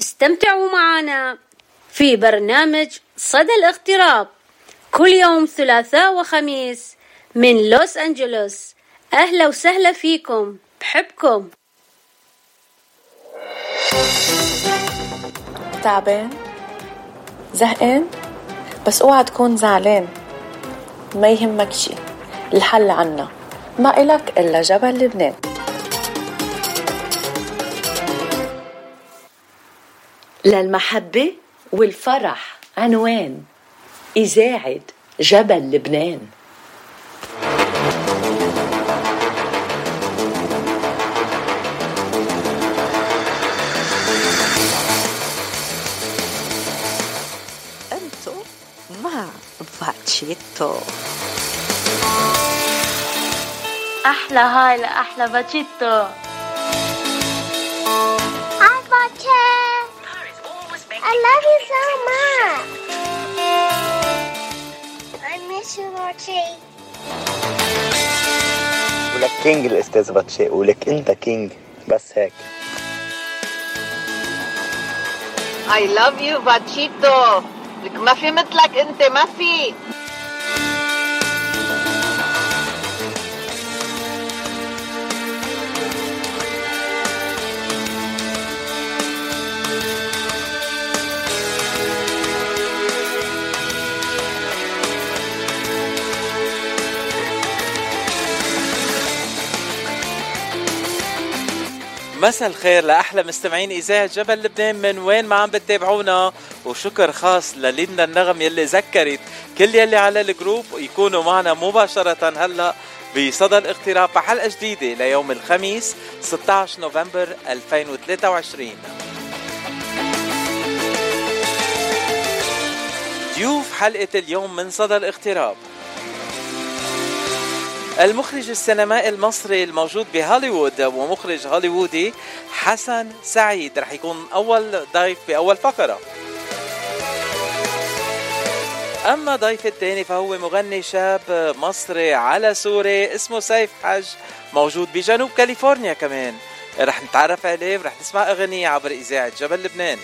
استمتعوا معنا في برنامج صدى الاغتراب كل يوم ثلاثاء وخميس من لوس أنجلوس. أهلا وسهلا فيكم، بحبكم. تعبان؟ زهقان؟ بس اوعى تكون زعلان، ما يهمك شي، الحل عنا، ما إلك إلا جبل لبنان. للمحبة والفرح عنوان إذاعة جبل لبنان. أنتو مع باتشيتو. أحلى هاي لأحلى باتشيتو. I love you so much. I miss you, Archie. ولك كينج الأستاذ باتشي، ولك أنت كينج، بس هيك. I love you باتشيتو، لك ما في مثلك أنت، ما في. مساء الخير لأحلى مستمعين إذاعة جبل لبنان من وين ما عم بتتابعونا، وشكر خاص للينا النغم يلي ذكرت كل يلي على الجروب يكونوا معنا مباشرة هلأ بصدى الاغتراب بحلقة جديدة ليوم الخميس 16 نوفمبر 2023. ضيوف حلقة اليوم من صدى الاغتراب: المخرج السينمائي المصري الموجود بهوليوود ومخرج هوليوودي حسن سعيد رح يكون أول ضيف بأول فقرة. أما ضيف الثاني فهو مغني شاب مصري على سوري اسمه سيف حج، موجود بجنوب كاليفورنيا كمان. رح نتعرف عليه ورح نسمع أغنية عبر إذاعة جبل لبنان.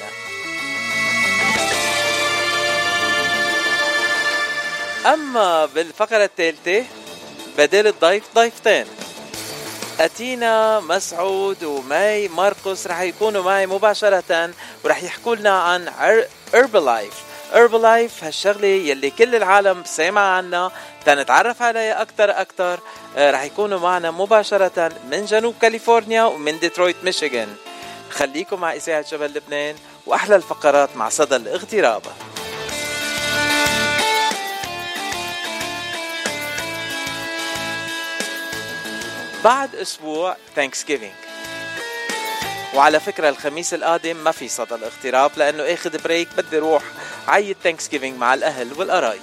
أما بالفقرة الثالثة بدل الضيف ضيفتين، أتينا مسعود وماي ماركوس رح يكونوا معي مباشرة ورح يحكوا لنا عن Herbalife هالشغلة يلي كل العالم سامع عنها، تنتعرف عليها أكتر. رح يكونوا معنا مباشرة من جنوب كاليفورنيا ومن ديترويت ميشيغان. خليكم مع إذاعة جبل لبنان وأحلى الفقرات مع صدى الاغتراب. بعد أسبوع Thanksgiving، وعلى فكرة الخميس القادم ما في صدى الاغتراب لأنه اخد بريك، بدي روح عيد Thanksgiving مع الأهل والقرايب.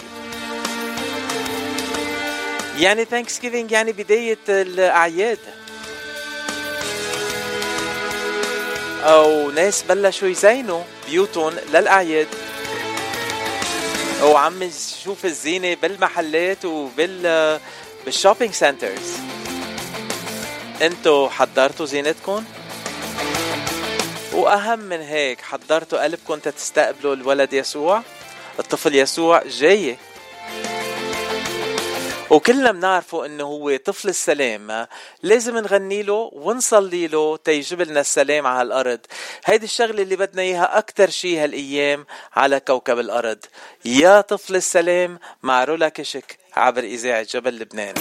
يعني Thanksgiving يعني بداية الأعياد، أو ناس بلشوا يزينوا بيوتهم للأعياد، وعم نشوف الزينة بالمحلات بالشوبينج سنترز. انتو حضرتوا زينتكم؟ واهم من هيك حضرتوا قلبكم تستقبلوا الولد يسوع، الطفل يسوع جاي، وكلنا بنعرفوا انه هو طفل السلام. لازم نغني له ونصلي له تيجيب لنا السلام على الارض. هيدي الشغله اللي بدنا اياها اكتر شيء هالايام على كوكب الارض. يا طفل السلام مع رولا كشك عبر اذاعه جبل لبنان.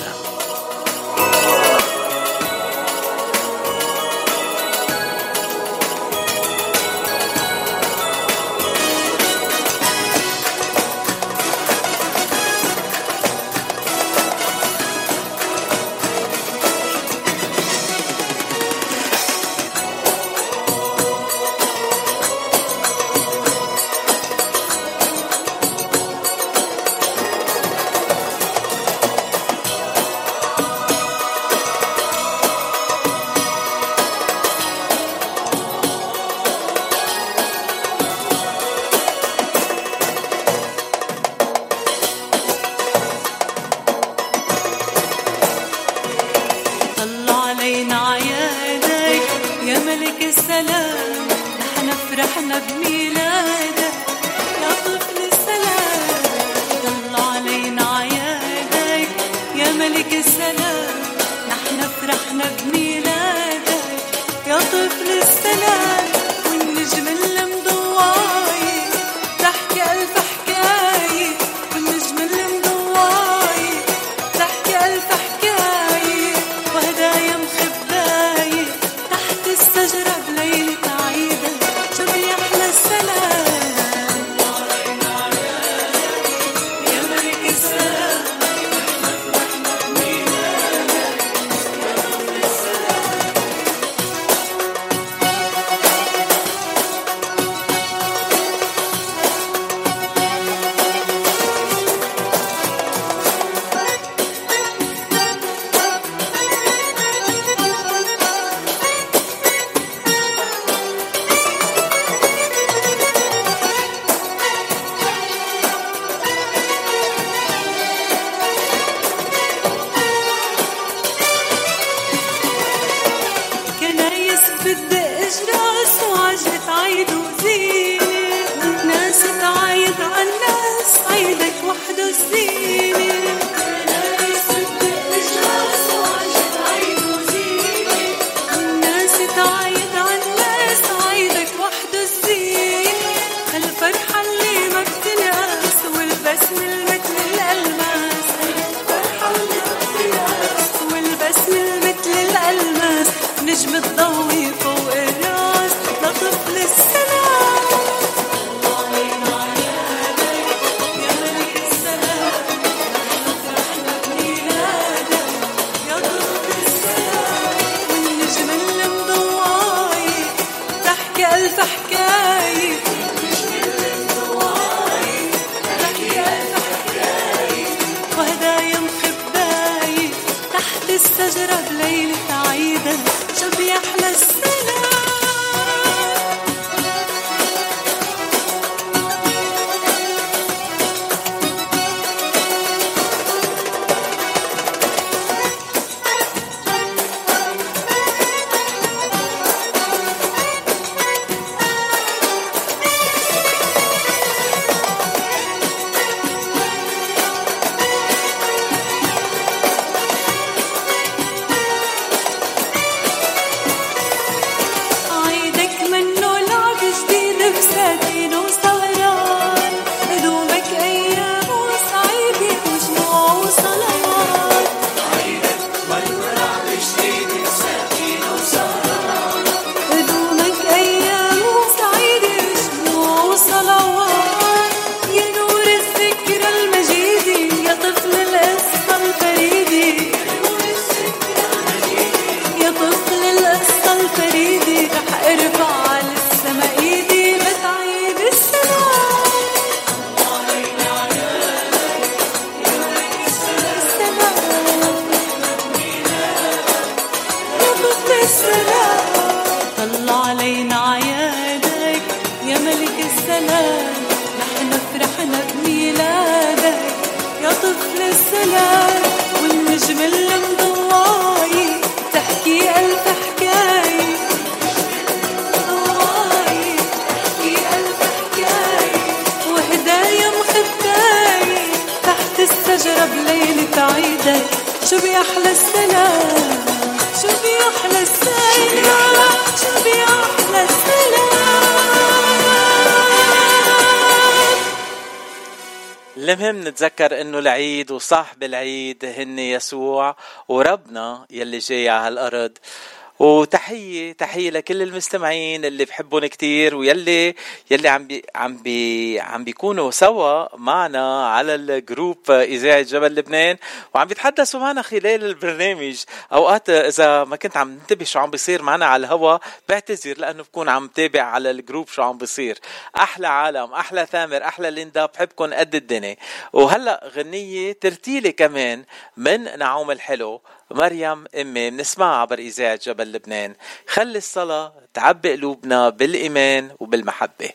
بميلادك يا طفل السلام. طل علينا عيادك يا ملك السلام، نحن فرحنا بميلادك يا طفل السلام. والنجم اللي مضواي تحكي ألف حكاية، والنجم اللي مضواي تحكي ألف حكاية، وهدايا مخباية تحت الشجرة بليلة عيدك. شو بيحلى السلام يا ملك السلام، نحن بميلادك يا طفل السلام. كنايس بتدق جراس وعجلة عيد وزينة، ناس تعايد عالناس عيدك وحده الزينة. كنايس بتدق جراس وعجلة عيد وزينة، ناس تعايد عالناس عيدك وحده الزينة. هالفرحة اللي ما بتنقاس والبسمة مثل الألماس، هالفرحة اللي ما بتنقاس والبسمة مثل الألماس. نجم تضوي فوق الراس لطفل السلام. الله علينا عيادك يا ملك السلام، نحن فرحنا بميلادك يا طفل السلام. والنجم اللي مضواي تحكي ألف حكاية، والنجم اللي مضواي تحكي ألف حكاية، وهدايا مخباية تحت الشجرة بليلة عيدك. شو بيحلى السلام عيدك منه لعب جديد بساتين وسهران، هدومك أيام وسعيدة وجموع وصلوات. عيدك منه لعب جديد بساتين وسهران، هدومك أيام وسعيدة وجموع وصلوات. يا نور الذكرى المجيدة يا طفل القصة الفريدة، يا طفل القصة الفريدة. رح ارفع على السما ايدي بتعيد السلام. الله علينا عيادك يا ملك السلام، يا طفل السلام. طل علينا عيادك يا ملك السلام، نحن فرحنا بميلادك يا طفل السلام. والنجم اللي مضواي تحكي ألف حكاية، مضواي تحكي ألف حكاية، وهدايا مخباية تحت الشجرة بليلة عيدك. شو بيحلى السلام، شو بيحلى السلام، شو بيحلى السلام. المهم نتذكر انه العيد وصاحب العيد هن يسوع وربنا يلي جاي على هالارض. وتحية لكل المستمعين اللي بحبون كتير، ويلي عم بيكونوا سوا معنا على الجروب إذاعة جبل لبنان، وعم بيتحدثوا معنا خلال البرنامج. أوقات إذا ما كنت عم ننتبه شو عم بيصير معنا على الهوا بعتذر، لأنه بكون عم تابع على الجروب شو عم بيصير. أحلى عالم، أحلى ثامر، أحلى ليندا، بحبكن قد الدنيا. وهلأ غنية ترتيلي كمان من نعوم الحلو مريم أمي بنسمعها عبر إذاعة جبل لبنان. خلي الصلاة تعبي قلوبنا بالإيمان وبالمحبة.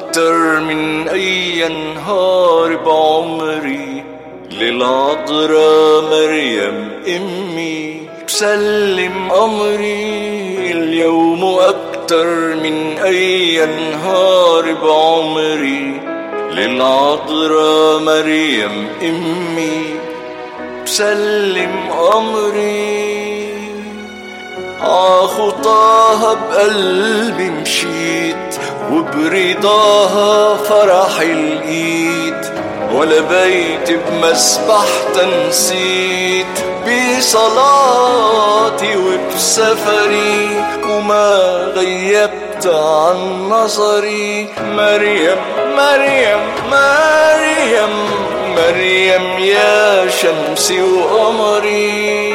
أكتر من أي نهار بعمري للعذراء مريم أمي بسلم أمري اليوم أكتر من أي نهار بعمري للعذراء مريم أمي بسلم أمري عخطاها بقلبي مشيت وبرضاها فرح الإيد ولا بيت بمسبحتها نسيت بصلاتي وبسفري وما غيبت عن نظري مريم مريم مريم مريم يا شمسي وقمري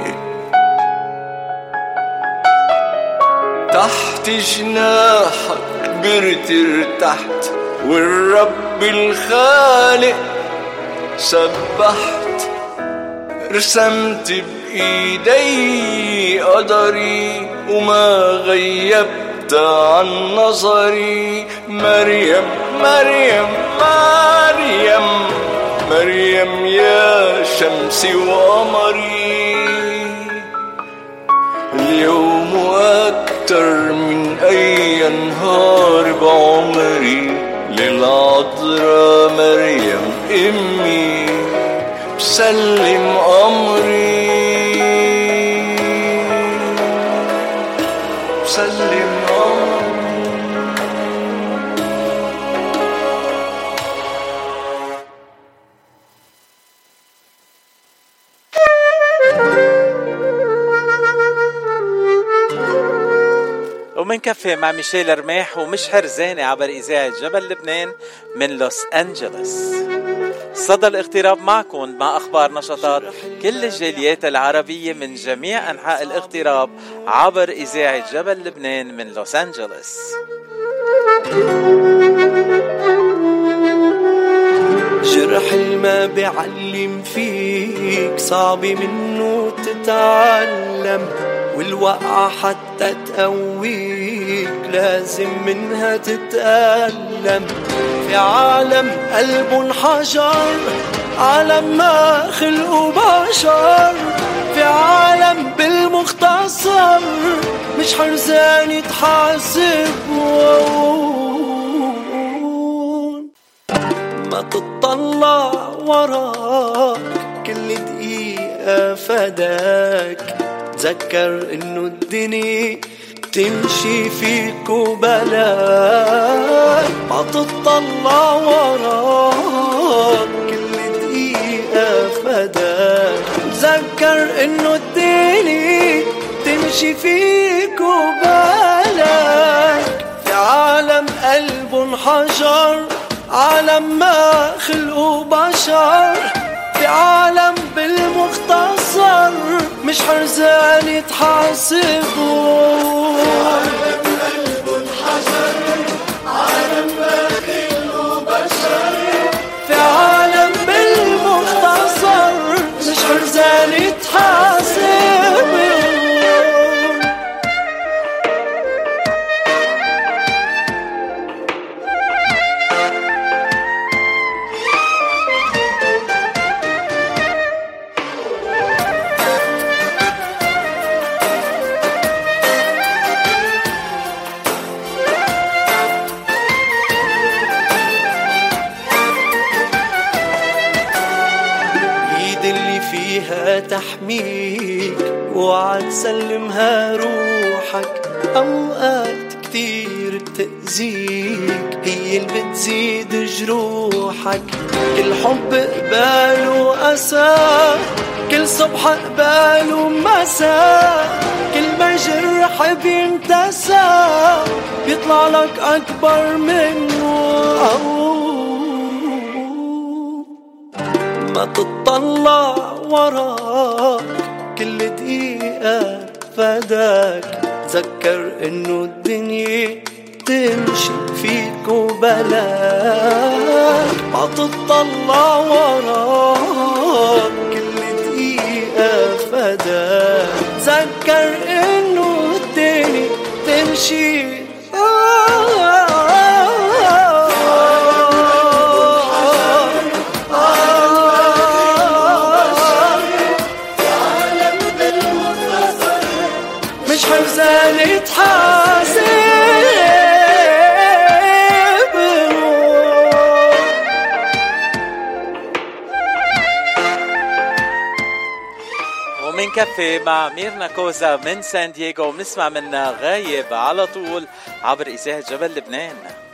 تحت جناحك كبرت ارتحت والرب الخالق سبحت رسمت بإيدي قدري وما غيبت عن نظري مريم مريم مريم مريم يا شمسي وقمري اليوم أكتر من أي نهار بعمري للعذراء مريم أمي بسلم أمري بسلم أمري. ومنكفي مع ميشيل رماح ومش حرزاني عبر إذاعة جبل لبنان من لوس أنجلوس. صدى الاغتراب معكم مع أخبار نشاطات كل الجاليات العربية من جميع أنحاء الاغتراب عبر إذاعة جبل لبنان من لوس أنجلوس. جرح ما بعلم فيك صعب منه تتعلم والوقعة حتى تقويك لازم منها تتألم في عالم قلبه انحجر عالم ما خلقه بشر في عالم بالمختصر مش حرزان يتحاسبون ما تطلع وراك كل دقيقة فداك تذكر انه الدنيا تمشي فيك وبلاك ما تطلع وراك كل دقيقة فداك تذكر انه الدنيا تمشي فيك وبلاك في عالم قلبه انحجر عالم ما خلقه بشر في عالم بالمختصر مش حرزان يتحاسبون عالم قلبه انحجر عالم ما خلقه بشر في عالم بالمختصر مش حرزان يتحاسبون. تحميك وعد سلمها روحك أوقات كتير بتأذيك هي اللي بتزيد جروحك كل حب قبال وأسى كل صبح قبال ومساء كل ما جرح بينتسى بيطلع لك أكبر منه ما تطلع وراك كل دقيقة فداك تذكر انه الدنيا تمشي فيك وبلاك ما تطلع وراك كل دقيقة فداك تذكر انه الدنيا تمشي منكفي مع ميرنا كوزا من سان دييغو وبنسمع منها غايب على طول عبر إذاعة جبل لبنان.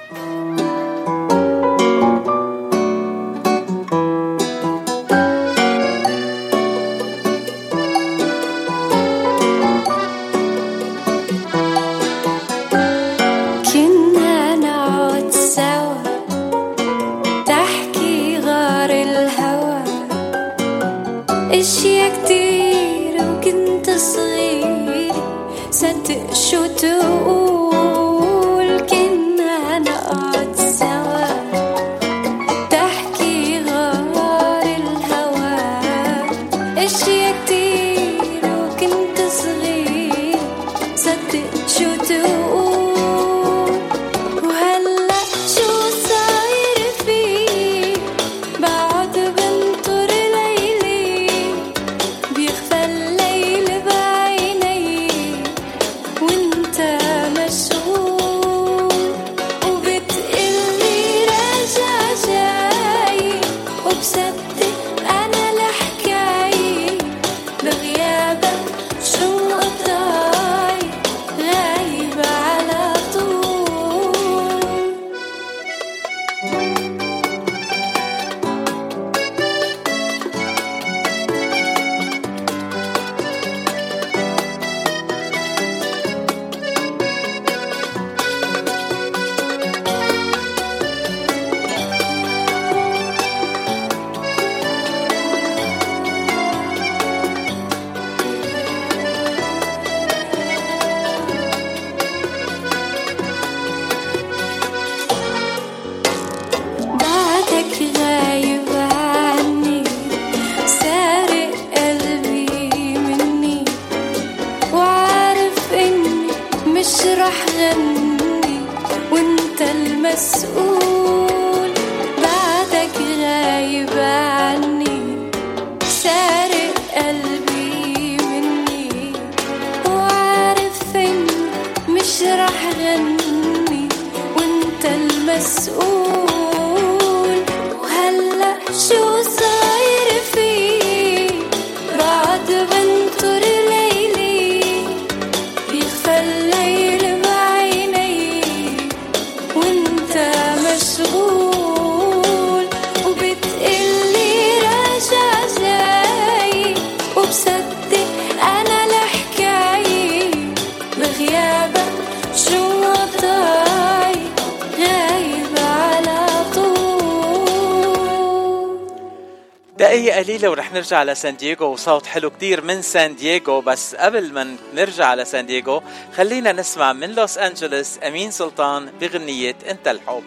دقيقة قليلة ورح نرجع على سان دييغو وصوت حلو كتير من سان دييغو. بس قبل ما نرجع على سان دييغو خلينا نسمع من لوس أنجلوس أمين سلطان بغنية أنت الحب.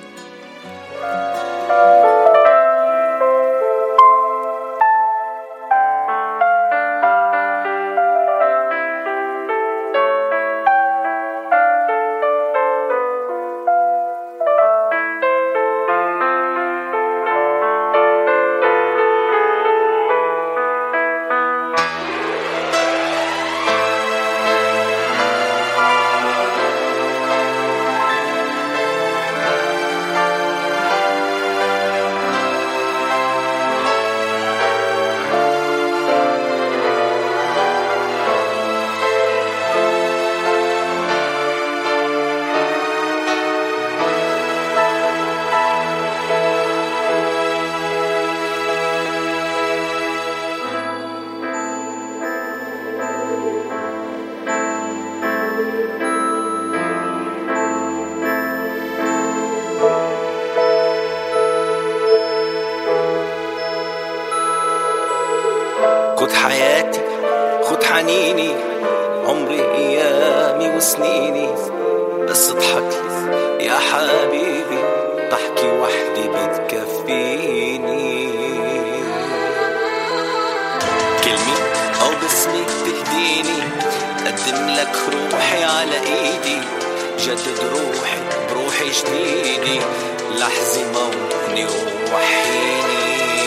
خد حياتي خد حنيني عمري ايامي وسنيني بس اضحكلي يا حبيبي ضحكي وحدي بتكفيني كلمة او باسمك تهديني قدم لك روحي على ايدي جدد روحي بروحي جديدي لحظة موتني ووحيني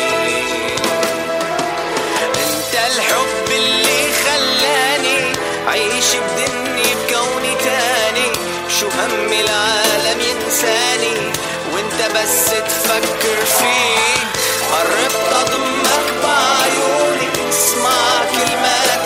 الحب اللي خلاني عيش بدني بكوني تاني شو هم العالم ينساني وانت بس تفكر فيه قرب اضمك بعيوني اسمع كلمات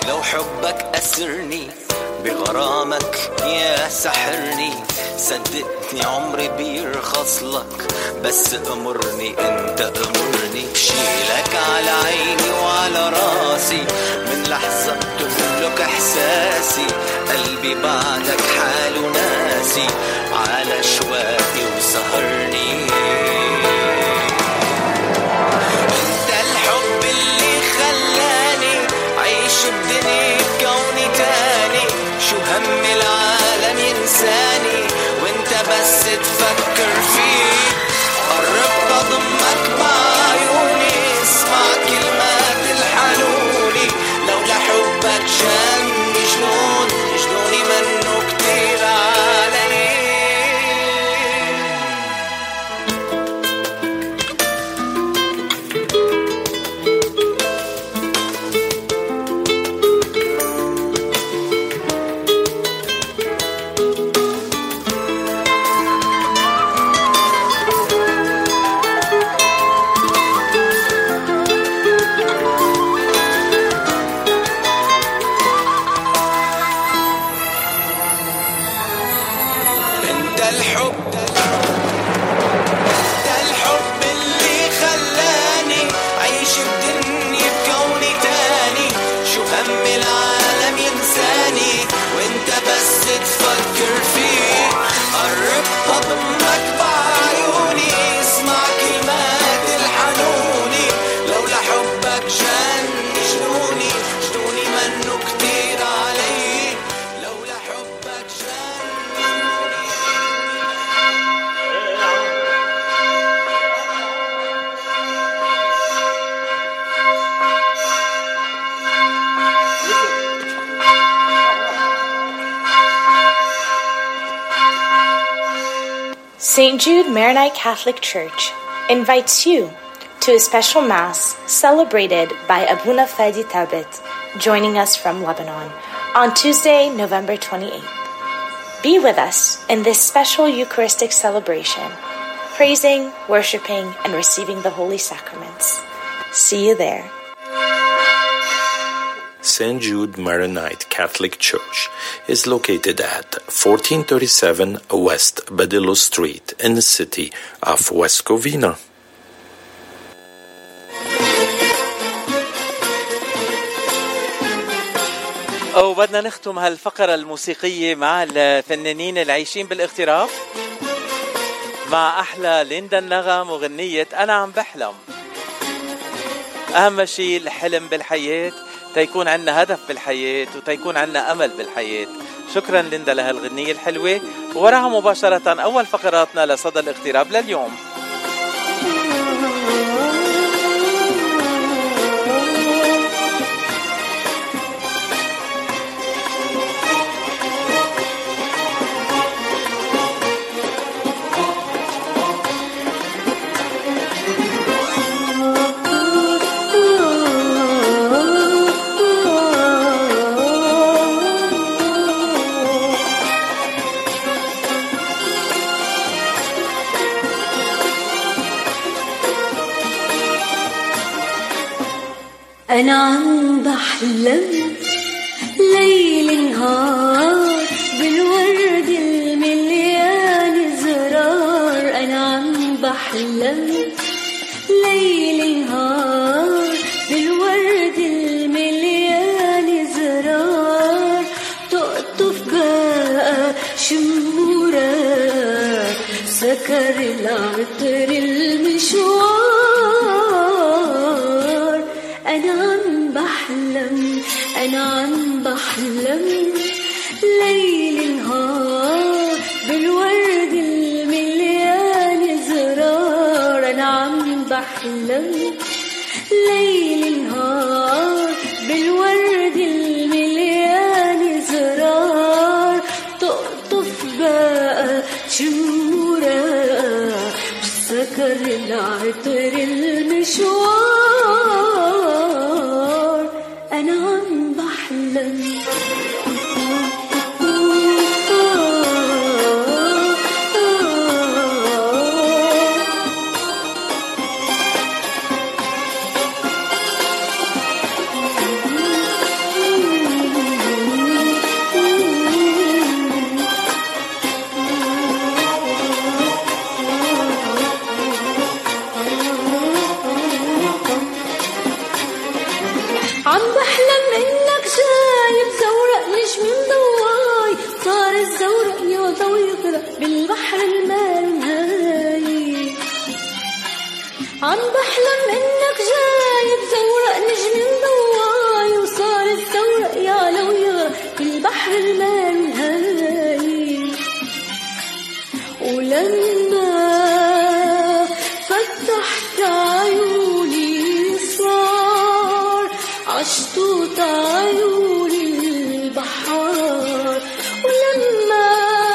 لو حبك أسرني بغرامك يا سحرني. صدقني عمري بيرخص لك، بس أمرني انت أمرني. بشيلك على عيني وعلى راسي، من لحظة تملك إحساسي. قلبي بعدك حاله ناسي، على شواقي وسهرني. انت الحب اللي خلاني عيش بدني بكوني تاني. شو هم العالم ينساني وانت بس تفكر فيه. قرب بضمك بعيوني، اسمع كلمات الحنوني. لولا حبك جنني جنون، جنوني منه كتير علي. تفكر فيه. قرب بضمك بعيوني، اسمع كلمات الحنوني. لولا حبك جنني جنوني، جنوني منه كتير علي. لولا حبك St. Jude Maronite Catholic Church invites you to a special Mass celebrated by Abuna Fadi Tabit, joining us from Lebanon, on Tuesday, November 28th. Be with us in this special Eucharistic celebration, praising, worshiping, and receiving the Holy Sacraments. See you there. St. Jude Maronite Catholic Church is located at 1437 West Badillo Street in the city of West Covina. وبدنا نختم هالفقرة الموسيقية مع الفنانين العايشين بالاغتراب، مع أحلى ليندا النغم وغنية أنا عم بحلم. أهم شيء الحلم بالحياة، تيكون عنا هدف بالحياة وتيكون عنا أمل بالحياة. شكرا ليندا لهالغنية الحلوة. ووراها مباشرة أول فقراتنا لصدى الاغتراب لليوم. أنا عم بحلم ليل نهار بالورد المليان زرار. أنا عم بحلم ليل نهار بالورد المليان زرار. تقطف بقى شمورة سكر العطر المشوار. أنا عم بحلم، أنا عم بحلم ليل نهار بالورد المليان زرار. أنا عم بحلم ليل نهار بالورد المليان زرار. تقطف بقى شمورة سكر العطر المشوار. أنا عم بحلم ولما فتحت عيوني صار عشتوت عيوني البحار. ولما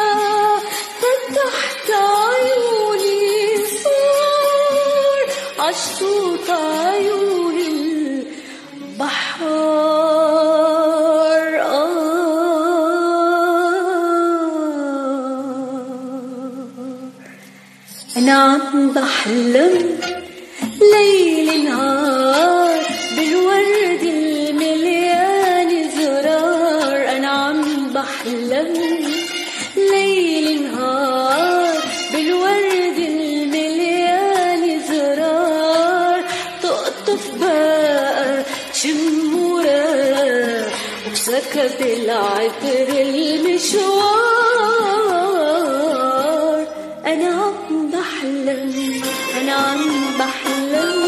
فتحت عيوني صار عشتوت عيوني البحار. أنا عم بحلم ليل نهار بالورد المليان زرار. أنا عم بحلم ليل نهار بالورد المليان زرار. تقطف بقى شمورة وسكت العطر المشوار. أنا عم بحلم أنا عم بحلم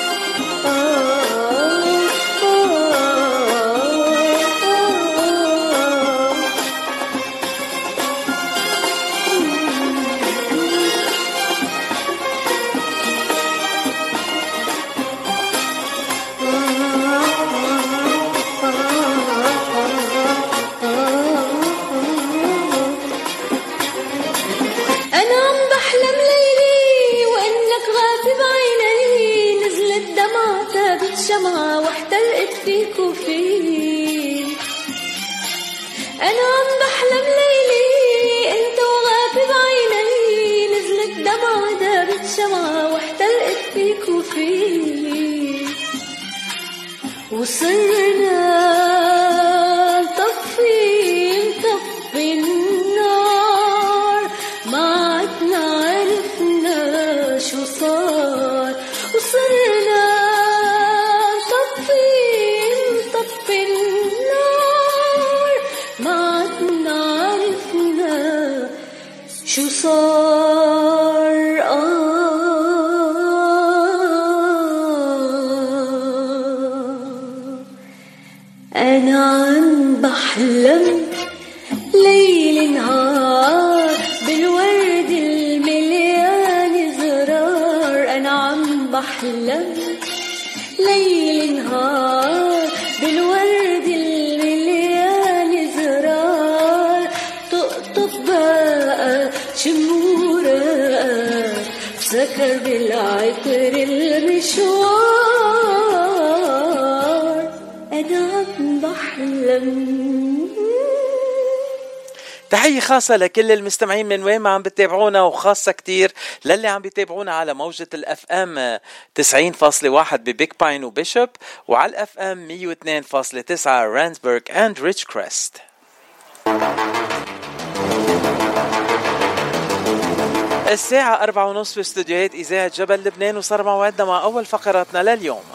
شمعة واحترقت فيك وفيك. أنا عم بحلم ليلي أنت وغافي بعيني نزلت دمعة دابت شمعة واحترقت فيك وفيك. وصرنا نطفي النار ما عدنا عرفنا شو صار. وصرنا نطفي النار ما عدنا عرفنا شو صار. أنا عم بحلم ليل نهار بالورد المليان زرار. أنا عم بحلم ليل نهار بالورد المليان زرار. تقطف بقى شمورة سكر بالعطر المشوار. أنا عم بحلم. تحية خاصة لكل المستمعين من وين ما عم بتتابعونا، وخاصة كتير للي عم بيتابعونا على موجة الأف أم 90.1 ببيك باين وبيشوب، وعلى الأف أم 102.9 رانسبرغ and ريتشكريست. الساعة 4:30 في استوديوهات إذاعة جبل لبنان، وصار موعدنا مع أول فقراتنا لليوم.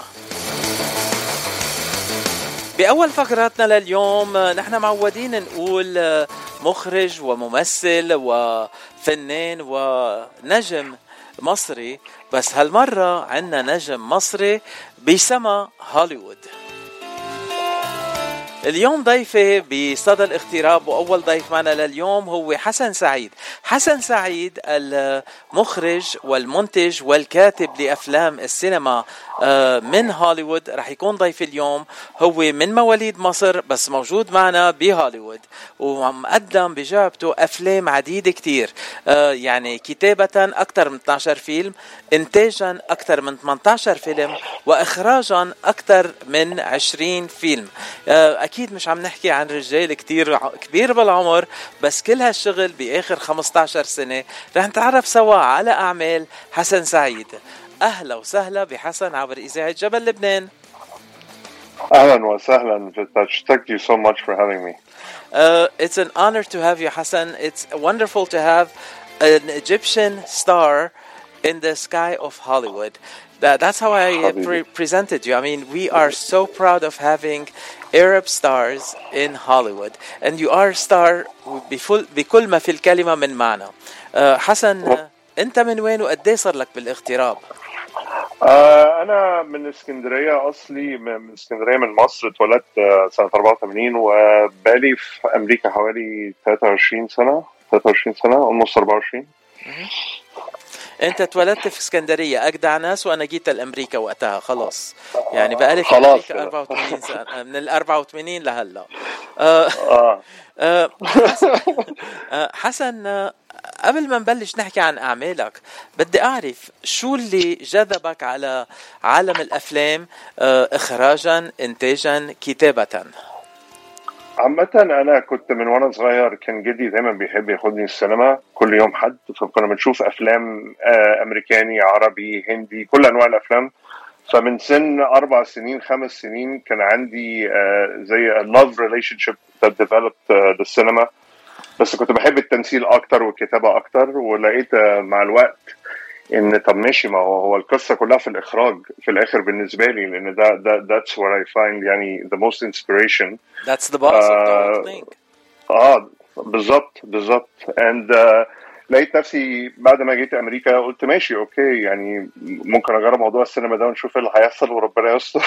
بأول فقراتنا لليوم نحن معودين نقول مخرج وممثل وفنان ونجم مصري، بس هالمرة عنا نجم مصري بسما هوليوود. اليوم ضيفي بصدى الاغتراب، وأول ضيف معنا لليوم هو حسن سعيد. حسن سعيد المخرج والمنتج والكاتب لأفلام السينما من هوليوود رح يكون ضيف اليوم. هو من مواليد مصر بس موجود معنا بهوليوود، ومقدم بجابته أفلام عديدة كتير، يعني كتابة أكثر من 12 فيلم، إنتاجا أكثر من 18 فيلم، وإخراجا أكثر من 20 فيلم. أكيد مش عم نحكي عن رجال كتير كبير بالعمر، بس كل هالشغل بآخر 15 سنة. رح نتعرف سوا على أعمال حسن سعيد. أهلا وسهلا بحسن عبر إذاعة جبل لبنان. أهلا وسهلا Vitash. Thank you so much for having me. It's an honor to have you, Hassan. It's wonderful to have an Egyptian star in the sky of Hollywood. That's how I presented you. I mean, we are so proud of having Arab stars in Hollywood, and you are a star بكل ما في الكلمة من معنى. حسن، أنت من وين وقديه صار لك بالاغتراب؟ أنا من اسكندرية أصلي، من اسكندرية من مصر. اتولدت سنة 84 وبالي في أمريكا حوالي 23 سنة almost 24. انت اتولدت في اسكندريه اجدع ناس، وانا جيت لامريكا وقتها خلاص يعني بقالي في امريكا 84 سنه من ال 84 لهلا. حسن، قبل ما نبلش نحكي عن أعمالك بدي أعرف شو اللي جذبك على عالم الأفلام إخراجا إنتاجا كتابة؟ عامة أنا كنت من وأنا صغير كان جدي دايما بيحب ياخدني السينما كل يوم حد، فكنا بنشوف أفلام أمريكاني عربي هندي كل أنواع الأفلام. فمن سن 4 سنين 5 سنين كان عندي زي a love relationship that developed للسينما، بس كنت بحب التمثيل أكتر والكتابة أكتر. ولقيت مع الوقت إن طب ماشي، ما هو القصة كلها في الإخراج في الآخر بالنسبة لي، لأن that's where I find يعني the most inspiration. That's the boss of the whole thing. بالضبط. and لقيت نفسي بعد ما جيت أمريكا قلت ماشي أوكي، يعني ممكن أجرب موضوع السينما ده ونشوف اللي هيحصل وربنا يستر.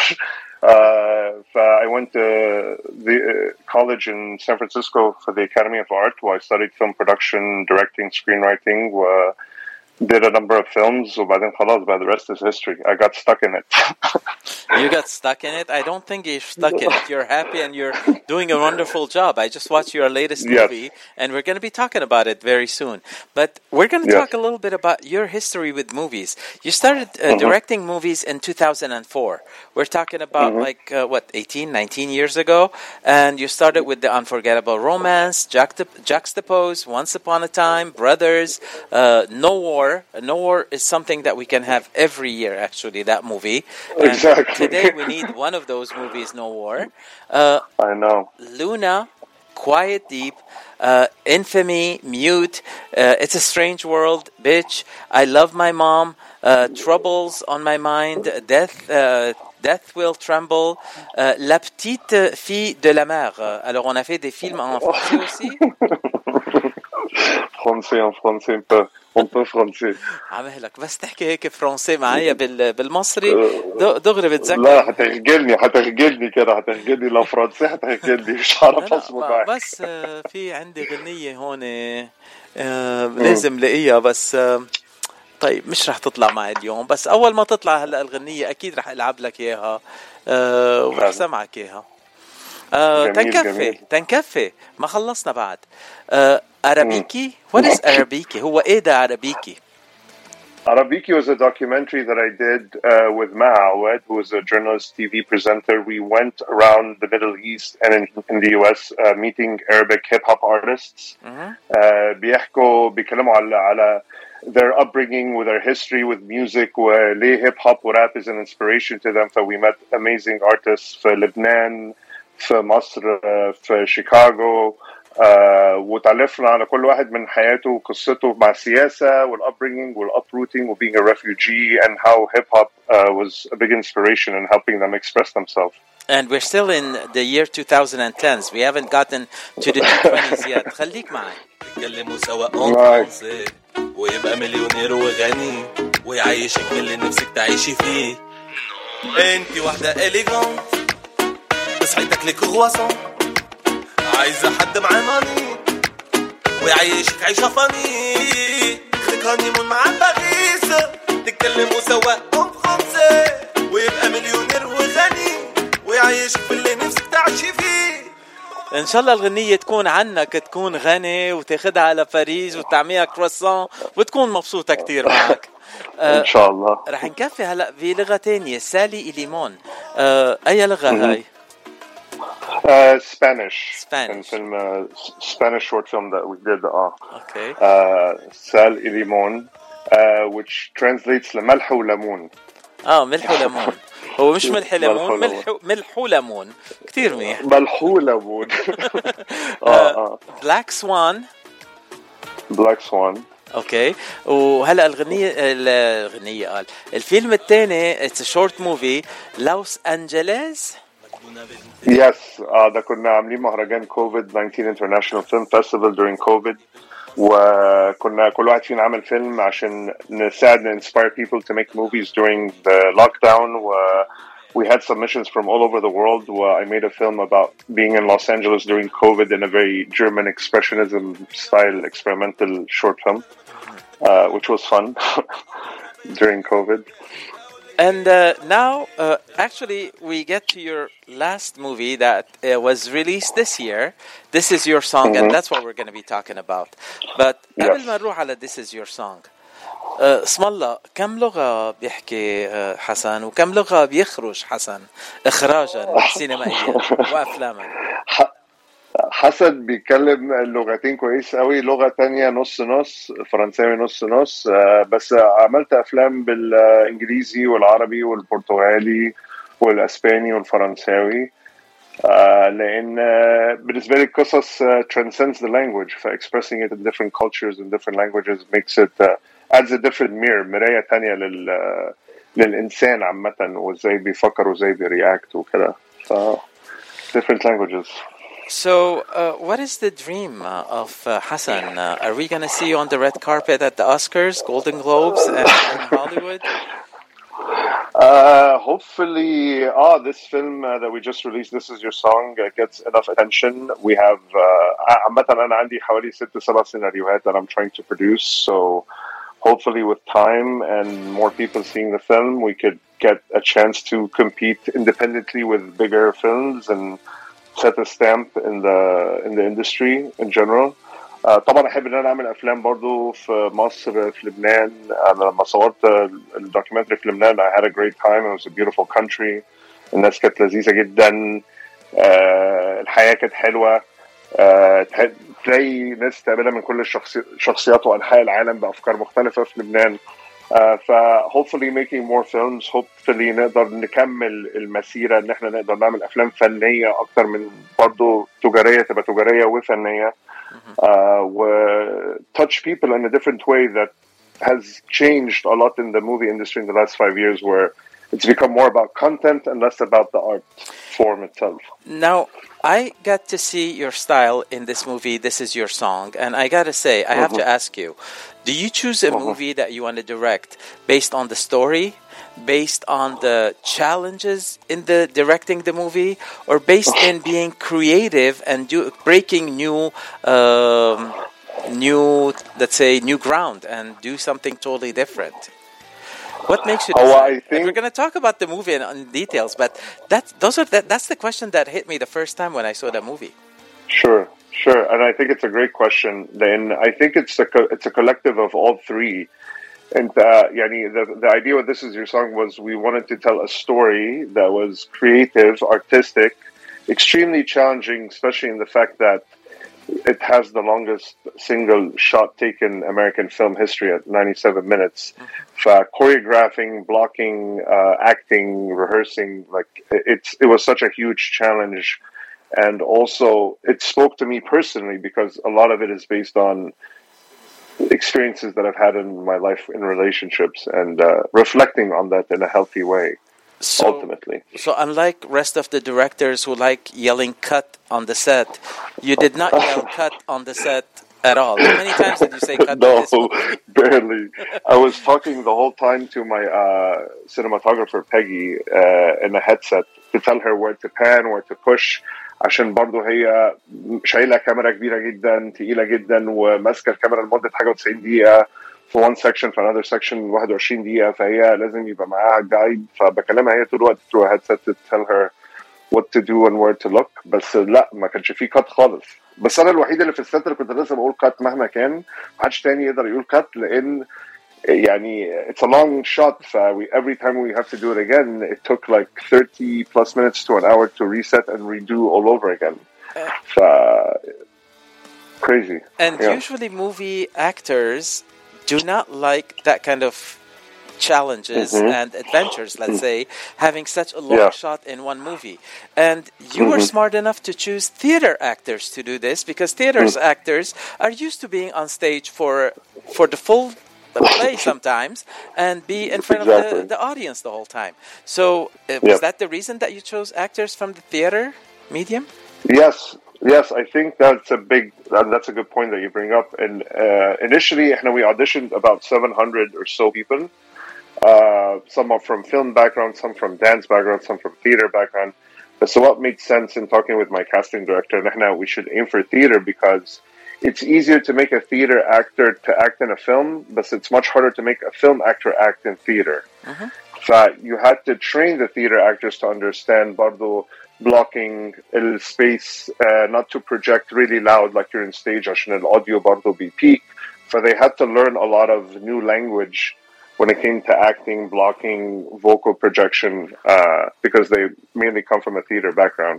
I went to the college in San Francisco for the Academy of Art, where I studied film production, directing, screenwriting, did a number of films, وبعدين خلاص بقى the rest is history. I got stuck in it. You got stuck in it? I don't think you're stuck in it. You're happy and you're doing a wonderful job. I just watched your latest movie, and we're going to be talking about it very soon. But we're going to talk a little bit about your history with movies. You started directing movies in 2004. We're talking about 18, 19 years ago. And you started with The Unforgettable Romance, Juxtapose, Once Upon a Time, Brothers, No War. No War is something that we can have every year, actually, that movie. And exactly. Today we need one of those movies, No War. I know. Luna, Quiet Deep, Infamy, Mute, It's a Strange World, Bitch, I Love My Mom, Troubles on My Mind, Death Will Tremble, La Petite Fille de la Mer. Alors on a fait des films en français aussi? En français un peu français. عمهلك بس تحكي هيك فرنسي معايا بالمصري دغري بتذكر. لا هتخجلني كده، هتخجلني لو فرنسي هتخجلني مش عارف اصبر معك. بس في عندي غنية هون لازم لاقيها، بس طيب مش رح تطلع معي اليوم، بس اول ما تطلع هلا الغنية اكيد رح العب لك اياها ورح سمعك اياها. تنكفي ما خلصنا بعد. Arabiki? What is Arabiki? هو ايه ده Arabiki? Arabiki was a documentary that I did with Ma Awad, who was a journalist, TV presenter. We went around the Middle East and in the US meeting Arabic hip-hop artists. بيكلموا على their upbringing, with their history with music, وليه hip-hop ورap is an inspiration to them. So we met amazing artists في لبنان، في مصر، في شيكاغو. وتعرفنا على كل واحد من حياته وقصته مع السياسة والupbringing والuprooting و being a refugee, and how hip-hop was a big inspiration in helping them express themselves. And we're still in the year 2010s. We haven't gotten to the 2020s yet. خليك معي. يتكلموا سوا فرنسي ويبقى مليونير وغني ويعيشك من اللي نفسك تعيشي فيه. انتي واحدة إليغانت تصحي تاكلي كرواسون، عايزة حد معاه ماني ويعيشك عيشة فاني، خليك هانيمون مع باريس، تتكلموا سوا فرنسي ويبقى مليونير وغني ويعيشك في اللي نفسك تعيشي فيه. ان شاء الله الغنية تكون عنك، تكون غني وتاخدها على باريس وتعميها كرواسون وتكون مبسوطة كتير معك. ان شاء الله. رح نكفي هلا بلغة تانية، سالي إليمون. اي لغة هاي؟ Spanish. Film, Spanish short film that we did. Okay. Sal y Limon, which translates لملح وليمون. ملح وليمون. هو مش ملح ليمون، ملح وليمون. كتير منيح. ملح وليمون. Black Swan. Black Swan. اوكي. وهلا الغنية قال الفيلم الثاني it's a short movie Los Angeles. Yes, ده كنا عاملين مهرجان COVID-19 International Film Festival during COVID, وكنا كل واحد فينا عمل فيلم عشان نساعد inspire people to make movies during the lockdown. We had submissions from all over the world. I made a film about being in Los Angeles during COVID in a very German expressionism style experimental short film. which was fun during COVID. And now, actually, we get to your last movie that was released this year. This Is Your Song, and that's what we're going to be talking about. But قبل ما نروح على This Is Your Song, اسم الله كم لغة بيحكي حسن وكم لغة بيخرج حسن إخراجا سينمائيا وأفلاما؟ حسن بيتكلم اللغتين كويس قوي، لغة تانية نص نص، فرنساوي نص نص، بس عملت أفلام بالإنجليزي والعربي والبرتغالي والأسباني والفرنساوي، لأن بالنسبة لي القصص transcends the language، فexpressing it in different cultures and different languages makes it adds a different مراية تانية للإنسان عامة، وإزاي بيفكر وإزاي بيreact وكده، different languages. So, what is the dream of Hassan? Are we going to see you on the red carpet at the Oscars, Golden Globes, and in Hollywood? Hopefully, this film that we just released, This Is Your Song, gets enough attention. We have, عامة أنا عندي حوالي 6-7 سيناريوهات that I'm trying to produce. So, hopefully with time and more people seeing the film, we could get a chance to compete independently with bigger films and set a stamp in the industry in general. طبعا احب ان انا اعمل افلام برضو في مصر، في لبنان. انا لما صورت الدوكيومنتري في لبنان I had a great time. It was a beautiful country. الناس كانت لذيذة جدا. الحياة كانت حلوة. تلاقي ناس تقابلها من كل الشخصيات وانحاء العالم بافكار مختلفة في لبنان. hopefully making more films, hopefully نقدر نكمل المسيرة ان احنا نقدر نعمل افلام فنية اكتر من برضو تجارية، تبقى تجارية وفنية، و touch people in a different way that has changed a lot in the movie industry in the last 5 years, where it's become more about content and less about the art form itself. Now, I got to see your style in this movie, This Is Your Song, and I gotta say, I have to ask you, do you choose a movie that you want to direct based on the story, based on the challenges in the directing the movie, or based in being creative and breaking new, let's say, new ground and do something totally different? What makes you decide? And we're going to talk about the movie in details, but that's the question that hit me the first time when I saw the movie. Sure, and I think it's a great question. Then I think it's a collective of all three. And the idea with This Is Your Song was we wanted to tell a story that was creative, artistic, extremely challenging, especially in the fact that it has the longest single shot taken American film history at 97 minutes. Choreographing, blocking, acting, rehearsing, it was such a huge challenge. And also it spoke to me personally because a lot of it is based on experiences that I've had in my life in relationships and reflecting on that in a healthy way. Ultimately. So unlike rest of the directors who like yelling cut on the set, you did not yell cut on the set at all. How many times did you say cut? No, barely. I was talking the whole time to my cinematographer Peggy in a headset to tell her where to pan, where to push, عشان برضو هي شايلة كاميرا كبيرة جدا تقيلة جدا وماسكة الكاميرا لمدة حاجة 90 دقيقة في one section في another section 21 دقيقة، فهي لازم يبقى معاها جايد، فبكلمها هي طول الوقت through a headset to tell her what to do and where to look. بس لا، ما كانش فيه كات خالص. بس أنا الوحيد اللي في الست اللي كنت لازم أقول كات مهما كان، محدش تاني يقدر يقول كات، لأن يعني it's a long shot. Every time we have to do it again, it took like 30 plus minutes to an hour to reset and redo all over again. Crazy. And usually movie actors do not like that kind of challenges and adventures, let's say, having such a long shot in one movie. And you were smart enough to choose theater actors to do this, because theater's actors are used to being on stage for the full play sometimes and be in front of the audience the whole time. So was that the reason that you chose actors from the theater medium? Yes, I think that's a good point that you bring up. And initially, we auditioned about 700 or so people. Some are from film background, some from dance background, some from theater background. So what made sense in talking with my casting director, we should aim for theater because it's easier to make a theater actor to act in a film, but it's much harder to make a film actor act in theater. You had to train the theater actors to understand برضو blocking الspace, not to project really loud like you're in stage عشان الaudio برضو بيpeak. So they had to learn a lot of new language when it came to acting, blocking, vocal projection, because they mainly come from a theater background.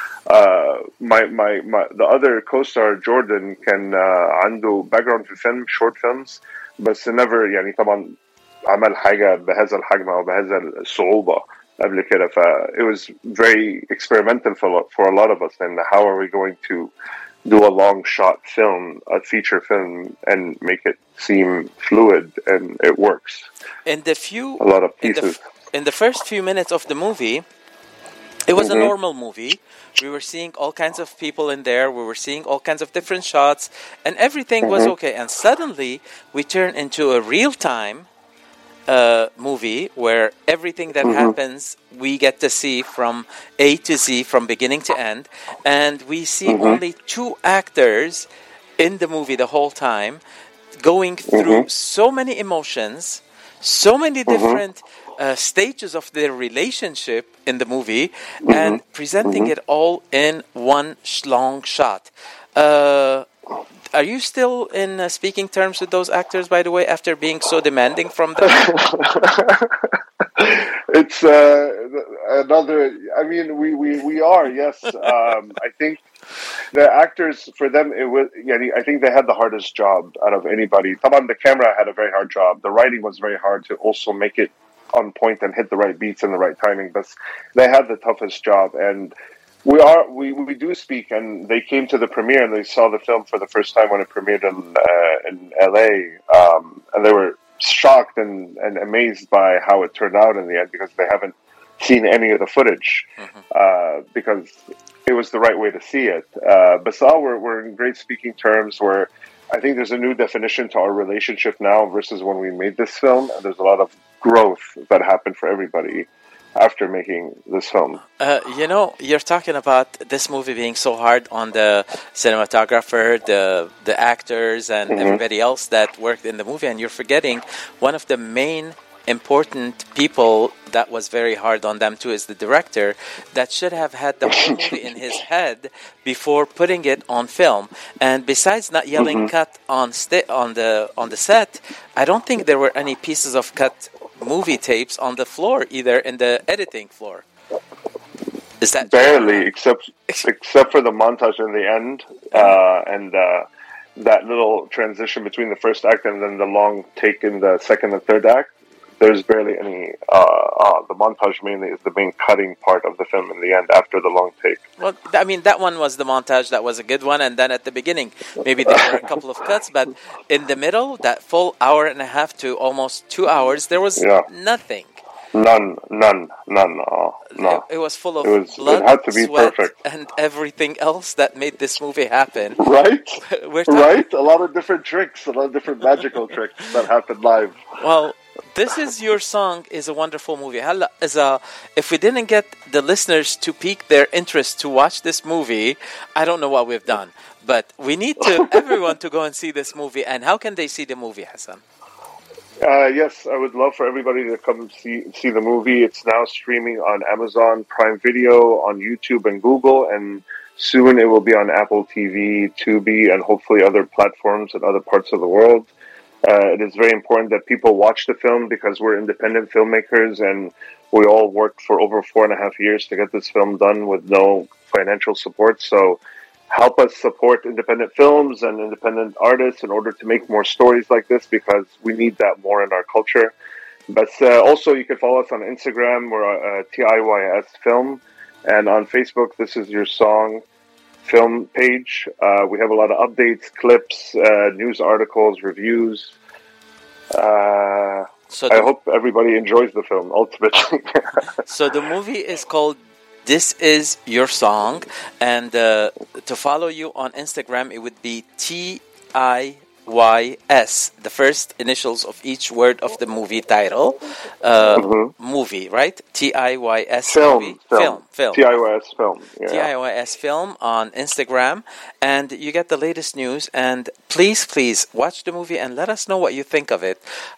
The other co-star Jordan كان عنده background في film, short films, بس never يعني طبعا عمل حاجة بهذا الحجم أو بهذا الصعوبة قبل كده. It was very experimental for a lot of us. And how are we going to do a long shot film, a feature film, and make it seem fluid? And it works. A lot of pieces. In the first few minutes of the movie, it was a normal movie. We were seeing all kinds of people in there. We were seeing all kinds of different shots, and everything was okay. And suddenly, we turn into a real-time movie where everything that happens we get to see from A to Z, from beginning to end, and we see only two actors in the movie the whole time, going through so many emotions, so many different stages of their relationship in the movie, and presenting it all in one long shot. Are you still in speaking terms with those actors, by the way, after being so demanding from them? It's another. I mean, we are, yes. I think the actors, for them, it was. I think they had the hardest job out of anybody. Taban, the camera had a very hard job. The writing was very hard to also make it on point and hit the right beats and the right timing. But they had the toughest job, and we do speak, and they came to the premiere and they saw the film for the first time when it premiered in LA, and they were shocked and amazed by how it turned out in the end, because they haven't seen any of the footage, because it was the right way to see it. But now we're in great speaking terms, where I think there's a new definition to our relationship now versus when we made this film, and there's a lot of growth that happened for everybody after making this film. You're talking about this movie being so hard on the cinematographer, the actors, and everybody else that worked in the movie, and you're forgetting one of the main important people that was very hard on them too is the director, that should have had the whole movie in his head before putting it on film. And besides not yelling cut on the set, I don't think there were any pieces of cut movie tapes on the floor either, in the editing floor. Is that barely except for the montage in the end, and that little transition between the first act and then the long take in the second and third act? There's barely any. The montage mainly is the main cutting part of the film in the end after the long take. Well, I mean, that one was the montage. That was a good one. And then at the beginning, maybe there were a couple of cuts. But in the middle, that full hour and a half to almost 2 hours, there was nothing. None. No. It was full of blood, it had to be sweat, perfect, and everything else that made this movie happen. Right? Right? A lot of different tricks, a lot of different magical tricks that happened live. Well, This Is Your Song is a wonderful movie. If we didn't get the listeners to pique their interest to watch this movie, I don't know what we've done. But we need everyone to go and see this movie. And how can they see the movie, Hassan? Yes, I would love for everybody to come see the movie. It's now streaming on Amazon Prime Video, on YouTube and Google, and soon it will be on Apple TV, Tubi, and hopefully other platforms in other parts of the world. It is very important that people watch the film, because we're independent filmmakers and we all worked for over 4.5 years to get this film done with no financial support. So help us support independent films and independent artists in order to make more stories like this, because we need that more in our culture. But also you can follow us on Instagram. We're TIYS Film, and on Facebook, This Is Your Song film page. We have a lot of updates, clips, news articles, reviews. I hope everybody enjoys the film, ultimately. So the movie is called This Is Your Song, and to follow you on Instagram, it would be TIYS TIYS, the first initials of each word of the movie title. Movie, right? TIYS film. Film. TIYS film. Yeah. TIYS film on Instagram, and you get the latest news. And please watch the movie and let us know what you think of it.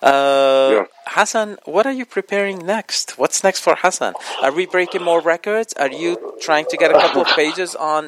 Hassan, what are you preparing next? What's next for Hassan? Are we breaking more records? Are you trying to get a couple of pages on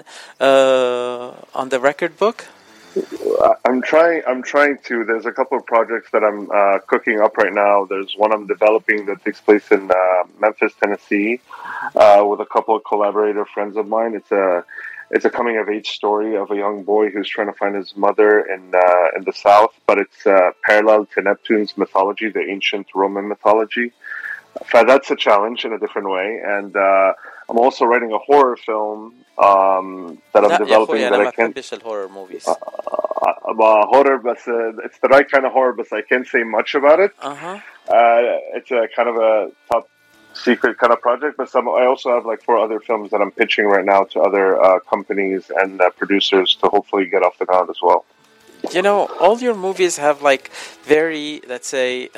the record book? I'm trying to. There's a couple of projects that I'm cooking up right now. There's one I'm developing that takes place in Memphis, Tennessee, with a couple of collaborator friends of mine. It's a coming of age story of a young boy who's trying to find his mother in the South, but it's parallel to Neptune's mythology, the ancient Roman mythology. So that's a challenge in a different way, and I'm also writing a horror film that I'm developing that I can't. horror movies. Horror, but it's the right kind of horror, but I can't say much about it. It's a kind of a top secret kind of project, but I also have like 4 other films that I'm pitching right now to other companies and producers to hopefully get off the ground as well. You know, all your movies have like very, let's say,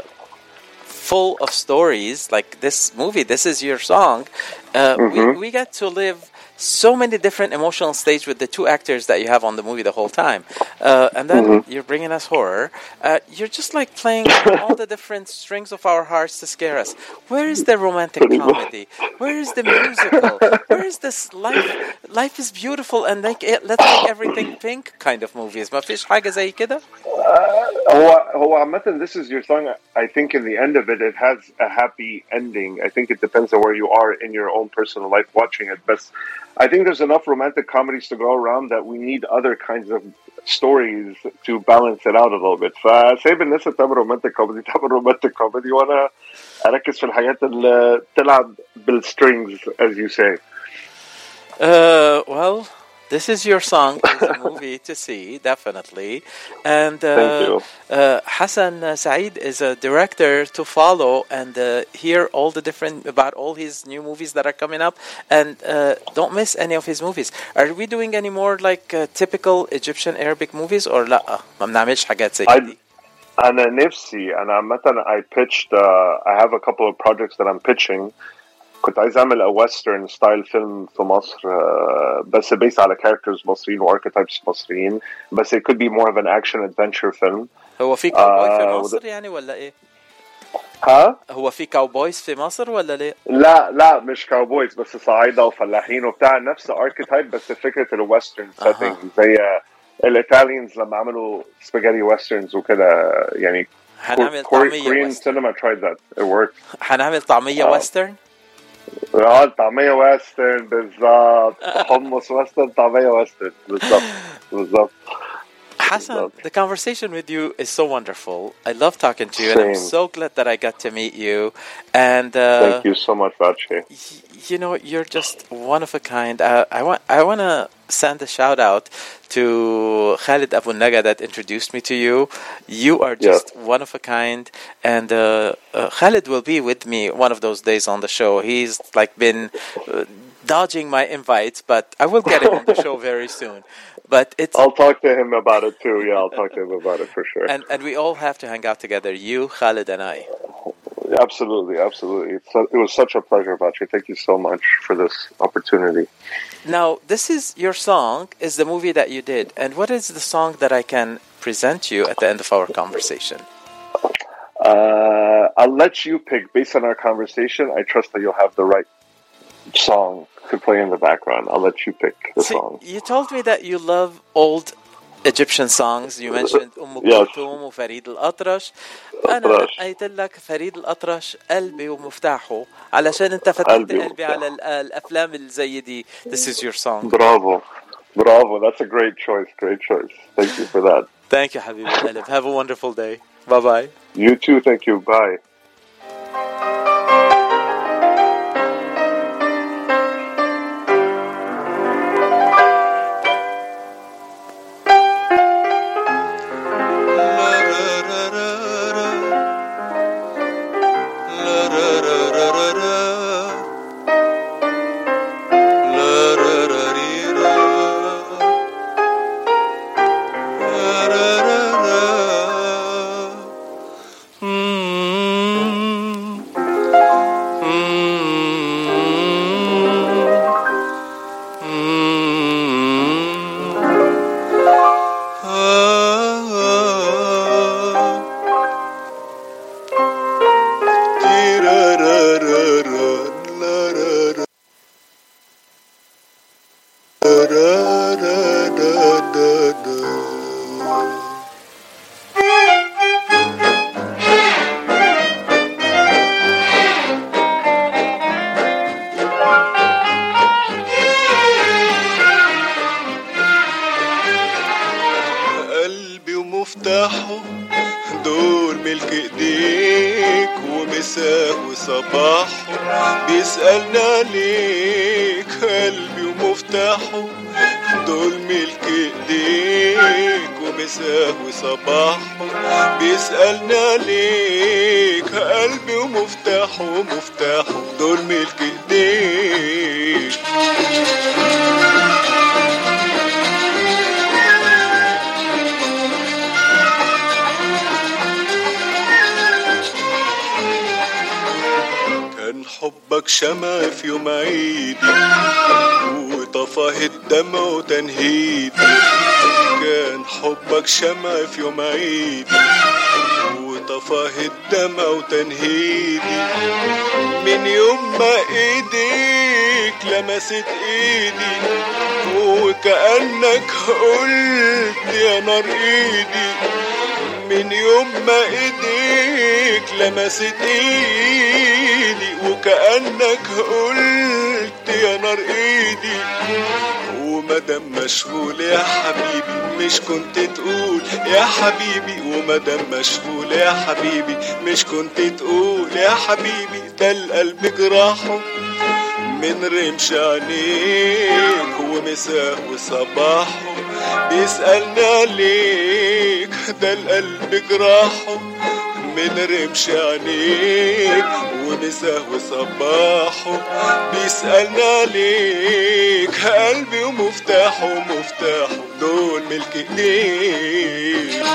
full of stories. Like this movie, This Is Your Song. We get to live so many different emotional stages with the 2 actors that you have on the movie the whole time. And then you're bringing us horror. You're just like playing all the different strings of our hearts to scare us. Where is the romantic comedy? Where is the musical? Where is this life is beautiful and let's make everything pink kind of movies? ما فيش حاجة زي كده? هو عامة This Is Your Song, I think in the end of it has a happy ending. I think it depends on where you are in your own personal life watching it. But I think there's enough romantic comedies to go around that we need other kinds of stories to balance it out a little bit. فسايب الناس تعمل romantic comedy وانا اركز في الحاجات اللي تلعب بالstrings, as you say. Well, This Is Your Song is a movie to see, definitely. And Thank you. Hassan Saeed is a director to follow and hear all the different, about all his new movies that are coming up. And don't miss any of his movies. Are we doing any more like typical Egyptian Arabic movies or لا؟ ما بنعملش حاجات زي دي. أنا نفسي مثلا I pitched I have a couple of projects that I'm pitching. كنت عايز أعمل a western style film في مصر بس based على characters مصريين و archetypes مصريين بس it could be more of an action adventure film. هو في كاوبوي في مصر يعني ولا إيه؟ هو في كاوبويز في مصر ولا ليه؟ لا مش كاوبويز بس صعايدة وفلاحين وبتاع نفس archetype بس فكرة الويسترن setting زي الإيطاليانز لما عملوا spaghetti westerns وكده يعني. هنعمل طعمية Korean cinema tried that. It worked. هنعمل طعمية ويسترن؟ طعمية ويسترن بالضبط. حمص ويسترن طعمية ويسترن بالضبط. Hassan, the conversation with you is so wonderful. I love talking to you, and I'm so glad that I got to meet you. And thank you so much, Vache. You know, you're just one of a kind. I want to send a shout out to Khalid Abu Naga that introduced me to you. You are just one of a kind, and Khalid will be with me one of those days on the show. He's like been dodging my invites, but I will get him on the show very soon. But I'll talk to him about it too. Yeah, I'll talk to him about it for sure. And we all have to hang out together, you, Khalid, and I. Absolutely. It was such a pleasure, Vache. Thank you so much for this opportunity. Now, This Is Your Song is the movie that you did. And what is the song that I can present you at the end of our conversation? I'll let you pick. Based on our conversation, I trust that you'll have the right song to play in the background. I'll let you pick the song. You told me that you love old Egyptian songs. You mentioned Kulthum وفريد الأطرش. أنا قلت لك فريد الأطرش قلبي ومفتاحه علشان أنت فتحت قلبي على الأفلام الزي دي. This is your song. Bravo. That's a great choice. Thank you for that. Thank you, حبيبي القلب. Have a wonderful day. Bye-bye. You too. Thank you. Bye. وصباحه بيسألنا ليك قلبي ومفتاحه دول ملك ايديك ومساه وصباحه بيسألنا ليك قلبي ومفتاحه دول ملك ايديك كان حبك شمع في يوم عيدي وطفاه الدمع وتنهيدي كان حبك شمع في يوم عيدي وطفاه الدمع وتنهيدي من يوم ما ايديك لمست ايدي وكأنك قلت يا نار ايدي من يوم ما ايديك لمست ايدي وكأنك قلت يا نار ايدي ومدام مشغول يا حبيبي مش كنت تقول يا حبيبي ومدام مشغول يا حبيبي مش كنت تقول يا حبيبي ده القلب جراحه من رمش عينيك ومساه وصباحه بيسألنا ليك ده القلب جراحه من رمش عينيك ومساه وصباحه بيسألنا ليك قلبي ومفتاحه دول ملك ايديك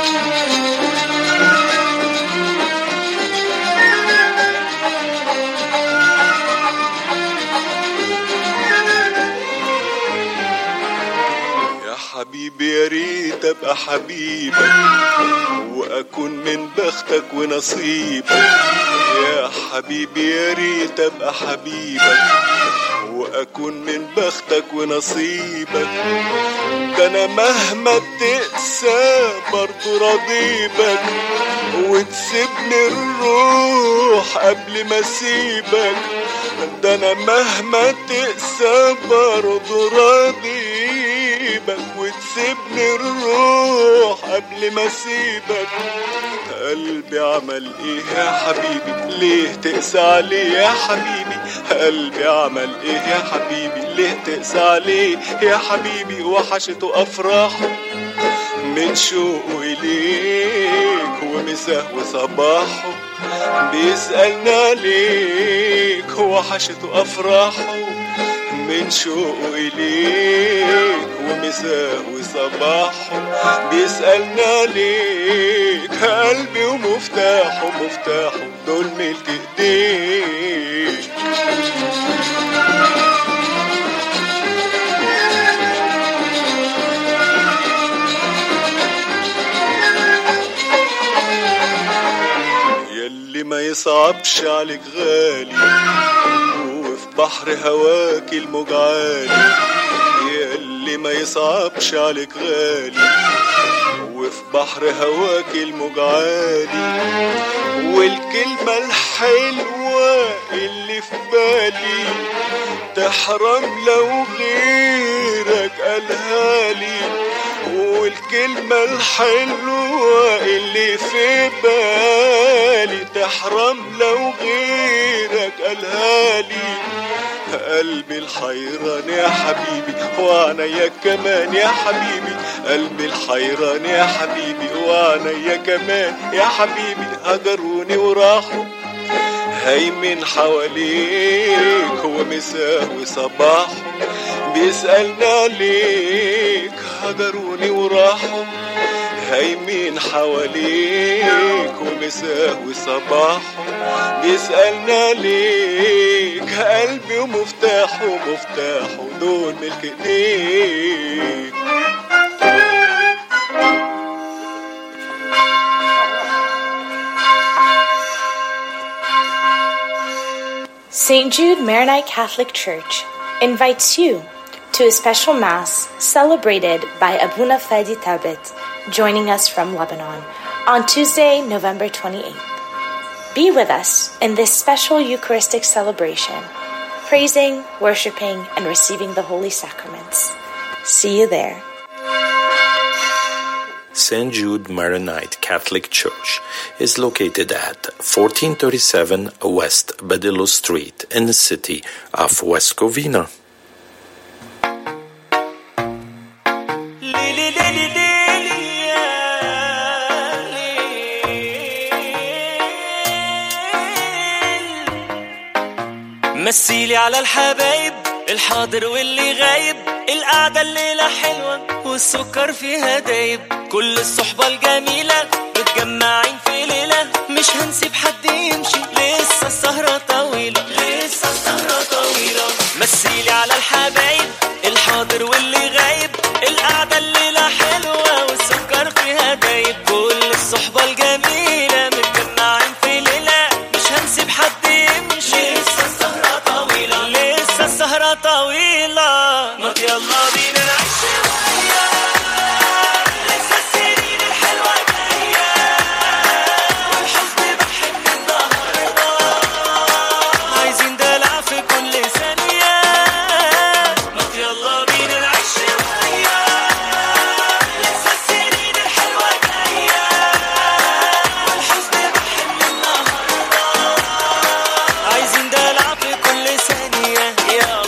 حبيبي يا ريت ابقى حبيبك واكون من بختك ونصيبك يا حبيبي يا ريت ابقى حبيبك واكون من بختك ونصيبك ده انا مهما تقسى برضو راضيبك وتسيبني الروح قبل ما اسيبك ده انا مهما تقسى برضو راضيبك وتسيبني الروح قبل ما اسيبك قلبي عمل ايه يا حبيبي ليه تقسى عليه يا حبيبي قلبي عمل ايه يا حبيبي ليه تقسى عليه يا حبيبي وحشته افراحه من شوقه اليك ومساه وصباحه بيسألنا ليك وحشته افراحه من شوقه إليك ومساه وصباحه بيسألنا ليك قلبي ومفتاحه دول ملك ايديك يلي ما يصعبش عليك غالي بحر هواك الموج عالي ياللي ما يصعبش عليك غالي وفي بحر هواك الموج عالي والكلمة الحلوة اللي في بالي تحرم لو غيرك قالها لي والكلمة الحلوة اللي في بالي تحرم لو غيرك قالها لي قلبي الحيران يا حبيبي وعنيا كمان يا حبيبي قلبي الحيران يا حبيبي وعنيا كمان يا حبيبي هجروني وراحوا هيمن حواليك ومساه وصباحه بيسألنا ليك هجروني وراحوا هيمن حواليك ومساه وصباحه بيسألنا ليك قلبي ومفتاحه دول ملك ايديك St. Jude Maronite Catholic Church invites you to a special Mass celebrated by Abuna Fadi Tabit, joining us from Lebanon, on Tuesday, November 28th. Be with us in this special Eucharistic celebration, praising, worshiping, and receiving the Holy Sacraments. See you there. St. Jude Maronite Catholic Church is located at 1437 West Badillo Street in the city of West Covina. مثيلي على الحبايب الحاضر واللي غايب، القعدة الليلة حلوة والسكر فيها دايب، كل الصحبة الجميلة متجمعين في ليلة، مش هنسيب حد يمشي، لسه السهرة طويلة، لسه السهرة طويلة. مثيلي على الحبايب الحاضر واللي غايب، القعدة الليلة حلوة والسكر فيها دايب، كل الصحبة الجميلة متجمعين في ليلة، مش هنسيب حد يمشي، لسه السهرة طويلة، لسه السهرة طويلة. ما يلا بينا نعيش شوية، لسه السنين الحلوة جاية، والحزن بحن النهاردة، عايزين دلع في كل ثانية. ما يلا بينا نعيش شوية، لسه السنين الحلوة جاية، والحزن بحن النهاردة، عايزين دلع في كل ثانية. يلا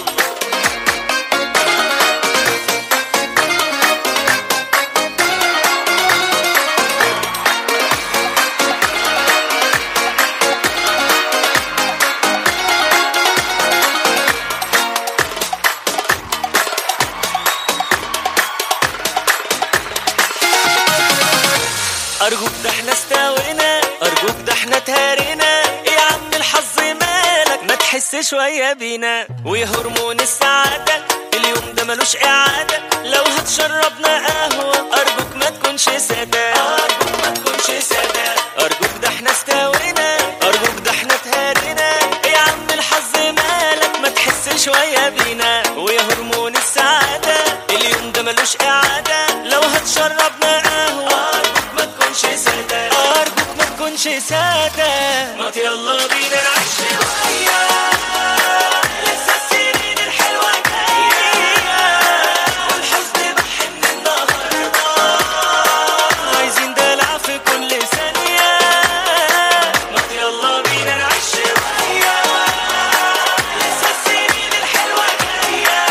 أرجوك ده احنا استوينا، أرجوك ده احنا تهارينا، يا عم الحظ مالك ما تحس شوية بينا، ويا هرمون السعادة اليوم ده ملوش إعادة، لو هتشربنا قهوة أرجوك ما تكونش سادة، أرجوك ما تكونش سادة، أرجوك ده احنا استوينا، أرجوك ده احنا تهارينا، يا عم الحظ مالك ما تحس شوية بينا، ويا هرمون السعادة اليوم ده ملوش إعادة، لو هتشربنا قهوة أرجوك ما تكونش سادة، أرجوك ما تكونش سادة. ما يلا بينا نعيش شوية، لسه السنين الحلوة جاية، والحزن بحن النهاردة، عايزين دلع في كل ثانية. ما يلا بينا نعيش شوية، لسه السنين الحلوة جاية.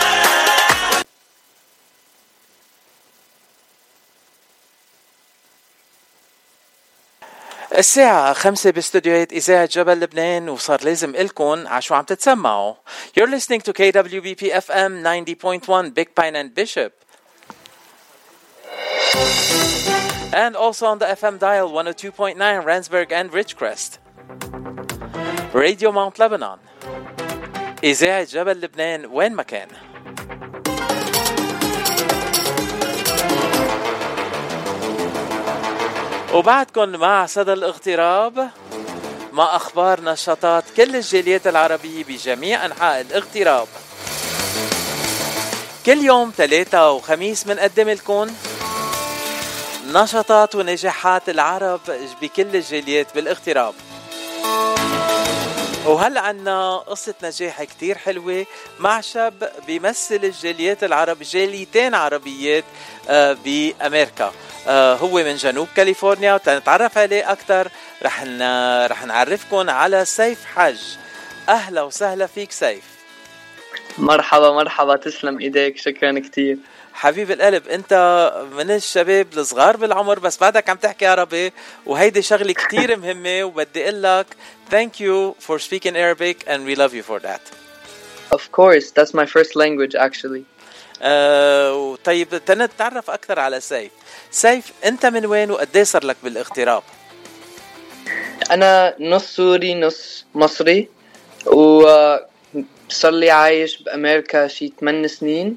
الساعة 5 باستوديوهات إذاعة جبل لبنان، وصار لازم إلكن عشو عم تتسمعوا. You're listening to KWBP FM 90.1 Big Pine and Bishop, and also on the FM dial 102.9 Randsburg and Ridgecrest. Radio Mount Lebanon, إذاعة جبل لبنان وين ما كان. وبعدكن مع صدى الاغتراب، مع أخبار نشاطات كل الجاليات العربية بجميع أنحاء الاغتراب. كل يوم 3 وخميس منقدم لكم نشاطات ونجاحات العرب بكل الجاليات بالاغتراب. وهلأ عنا قصة نجاح كتير حلوة مع شاب بيمثل الجاليات العرب، جاليتين عربيات بأمريكا. هو من جنوب كاليفورنيا، وتنتعرف عليه أكتر رح نعرفكن على سيف حج. أهلا وسهلا فيك سيف. مرحبا مرحبا، تسلم إيديك، شكرا كتير حبيب القلب. أنت من الشباب الصغار بالعمر بس بعدك عم تحكي عربي، وهيدي شغلة كتير مهمة، وبدي أقلك thank you for speaking Arabic and we love you for that. Of course, that's my first language actually. طيب تنتعرف أكثر على سيف. سيف أنت من وين وقديه صار لك بالاغتراب؟ أنا نص سوري نص مصري، وصار لي عايش بأمريكا شي 8 سنين.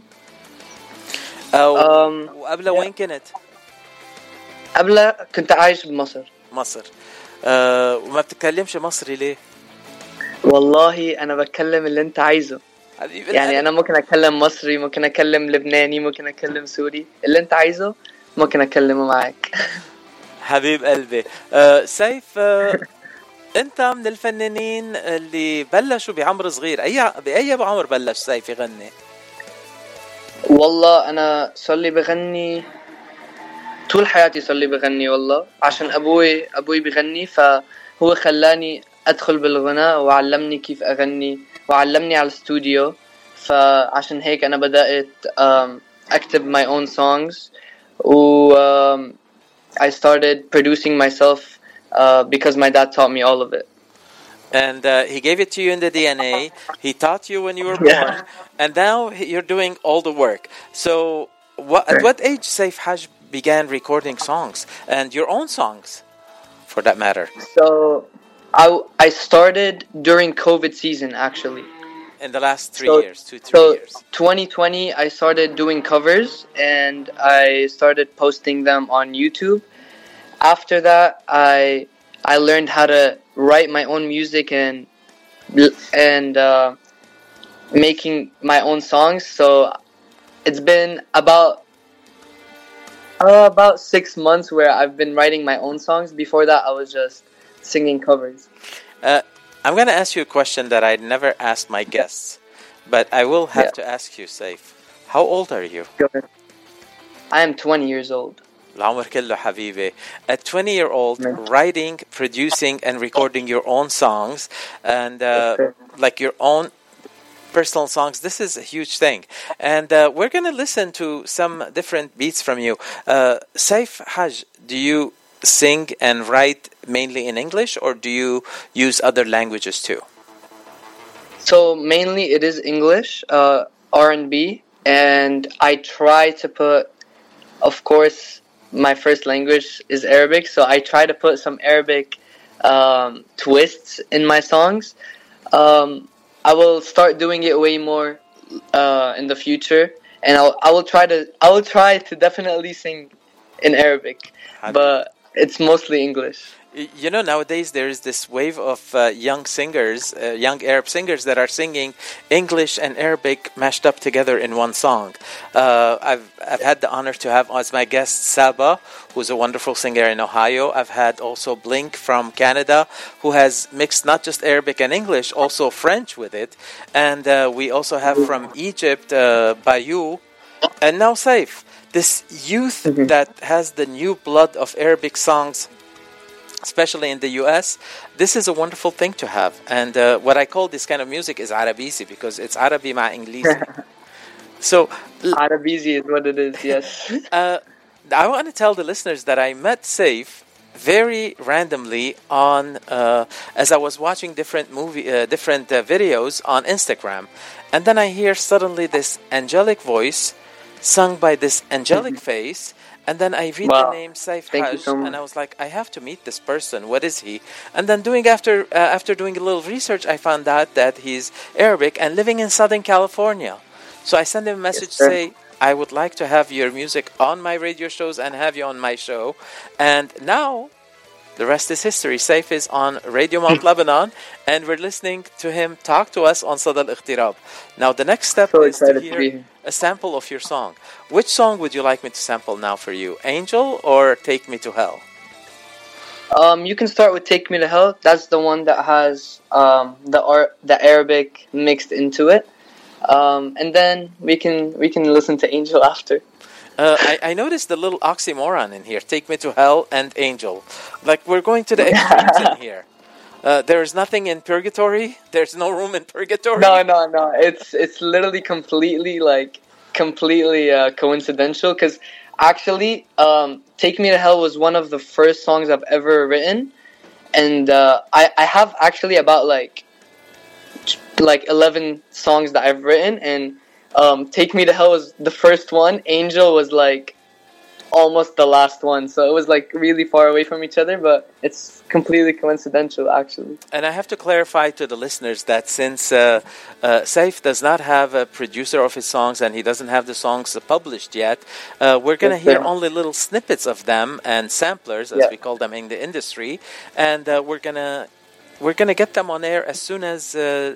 وقبل وين كنت؟ قبل كنت عايش بمصر. مصر. وما بتتكلمش مصري ليه؟ والله أنا بتكلم اللي أنت عايزه، يعني أنا ممكن أتكلم مصري، ممكن أتكلم لبناني، ممكن أتكلم سوري، اللي أنت عايزه ممكن أتكلمه معك. حبيب قلبي. سيف، أنت من الفنانين اللي بلشوا بعمر صغير. بأي عمر بلش سيف يغني؟ والله أنا صار لي بغني طول حياتي صار لي بغني والله، عشان أبوي بغني، فهو خلاني أدخل بالغناء وعلمني كيف أغني وعلمني على الاستوديو. فعشان هيك أنا بدأت أكتب my own songs و I started producing myself because my dad taught me all of it. And he gave it to you in the DNA. He taught you when you were born, and now you're doing all the work. So, at what age Saif Haj began recording songs and your own songs, for that matter? So, I started during COVID season, actually. In the last 3 years, 2-3 years. 2020, I started doing covers, and I started posting them on YouTube. After that, I learned how to write my own music and making my own songs. So it's been about 6 months where I've been writing my own songs. Before that, I was just singing covers. I'm going to ask you a question that I never asked my guests, but I will have to ask you, Saif. How old are you? I am 20 years old. العمر كله حبيبي. A 20-year-old writing, producing, and recording your own songs, and like your own personal songs. This is a huge thing. And we're going to listen to some different beats from you. Saif Haj, do you sing and write mainly in English, or do you use other languages too? So mainly it is English, R&B, and I try to put, of course, my first language is Arabic, so I try to put some Arabic twists in my songs. I will start doing it way more in the future, and I will try to definitely sing in Arabic, but it's mostly English. You know, nowadays there is this wave of young singers, young Arab singers that are singing English and Arabic mashed up together in one song. I've had the honor to have as my guest Saba, who's a wonderful singer in Ohio. I've had also Blink from Canada, who has mixed not just Arabic and English, also French with it. And we also have from Egypt, Bayou, and now Saif. This youth that has the new blood of Arabic songs, especially in the US, this is a wonderful thing to have. And what I call this kind of music is Arabisi, because it's Arabi ma English. So Arabisi is what it is, yes. I want to tell the listeners that I met Saif very randomly on as I was watching different videos on Instagram, and then I hear suddenly this angelic voice sung by this angelic face. And then I read the name Saif Haj, and I was like, I have to meet this person. What is he? And then after doing a little research, I found out that he's Arabic and living in Southern California. So I sent him a message to say, I would like to have your music on my radio shows and have you on my show. And now, the rest is history. Saif is on Radio Mount Lebanon, and we're listening to him talk to us on Sada Al-Ikhtirab. Now, the next step is to hear a sample of your song. Which song would you like me to sample now for you? Angel or Take Me to Hell? You can start with Take Me to Hell. That's the one that has the Arabic mixed into it. And then we can listen to Angel after. I noticed the little oxymoron in here. Take Me to Hell and Angel. Like, we're going to the extremes in here. There is nothing in purgatory. There's no room in purgatory. No. It's literally completely coincidental. Because actually, Take Me to Hell was one of the first songs I've ever written, and I have actually about like 11 songs that I've written, and Take Me to Hell was the first one. Angel was like almost the last one, so it was like really far away from each other, but it's completely coincidental actually. And I have to clarify to the listeners that since Saif does not have a producer of his songs and he doesn't have the songs published yet, we're going to hear only little snippets of them and samplers, as we call them in the industry, and we're gonna get them on air as soon as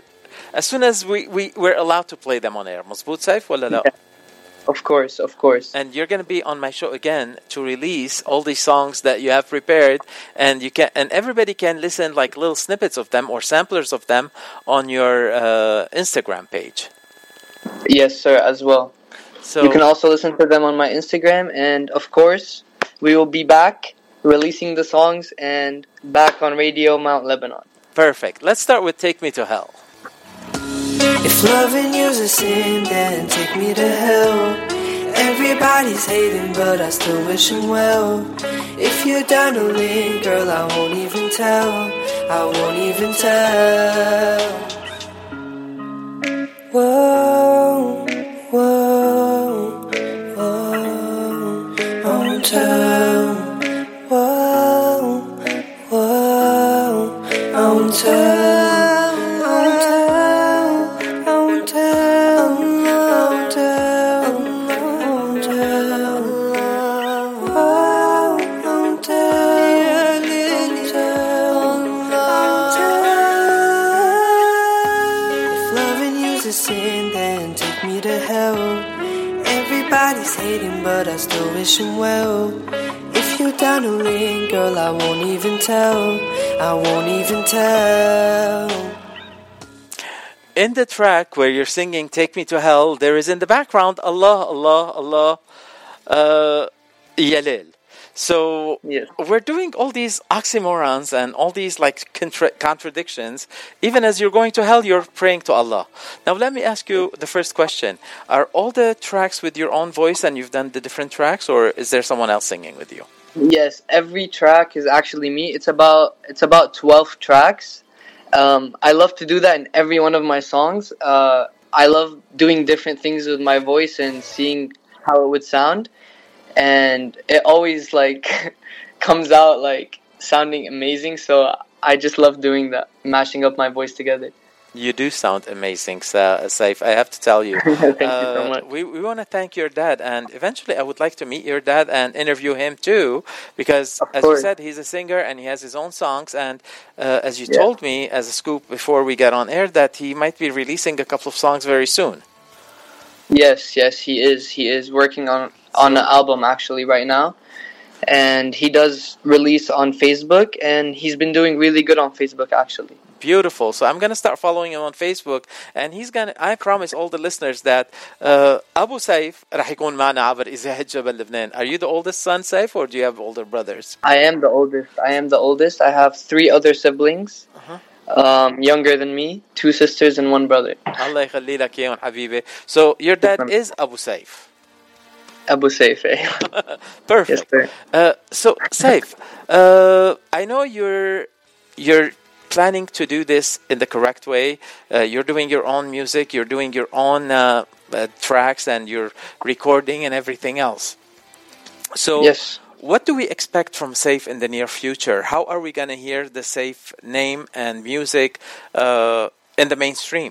we're allowed to play them on air. مظبوط Saif ولا لا? Of course. And you're going to be on my show again to release all these songs that you have prepared, and everybody can listen like little snippets of them or samplers of them on your Instagram page. Yes, sir, as well. So you can also listen to them on my Instagram, and of course, we will be back releasing the songs and back on Radio Mount Lebanon. Perfect. Let's start with Take Me to Hell. If loving you's a sin, then take me to hell. Everybody's hating, but I still wish him well. If you're down to leave, girl, I won't even tell. I won't even tell. Whoa, whoa, whoa, I won't tell. Whoa, whoa, I won't tell. But I still wish him well. If you're down to leave, girl, I won't even tell. I won't even tell. In the track where you're singing Take Me to Hell, there is in the background Allah, Allah, Allah, Yalil. So we're doing all these oxymorons and all these like contradictions. Even as you're going to hell, you're praying to Allah. Now let me ask you the first question. Are all the tracks with your own voice and you've done the different tracks, or is there someone else singing with you? Yes, every track is actually me. It's about 12 tracks. I love to do that in every one of my songs. I love doing different things with my voice and seeing how it would sound. And it always like comes out like sounding amazing. So I just love doing that, mashing up my voice together. You do sound amazing, Saif. I have to tell you. Thank you so much. We want to thank your dad, and eventually I would like to meet your dad and interview him too, because as you said, he's a singer and he has his own songs. And as you told me as a scoop before we got on air, that he might be releasing a couple of songs very soon. Yes, he is. He is working on an album actually right now, and he does release on Facebook, and he's been doing really good on Facebook actually. Beautiful. So I'm going to start following him on Facebook, and I promise all the listeners that Abu Saif رح يكون معنا عبر إذاعة جبل لبنان. Are you the oldest son, Saif, or do you have older brothers? I am the oldest. I have 3 other siblings. Younger than me, 2 sisters and 1 brother. Allah يخلي لك إياهم حبيبي. So your dad is Abu Saif. Abu Saif. Perfect. Yes, so Saif, I know you're planning to do this in the correct way. You're doing your own music, you're doing your own tracks, and you're recording and everything else. So what do we expect from Saif in the near future? How are we going to hear the Saif name and music in the mainstream?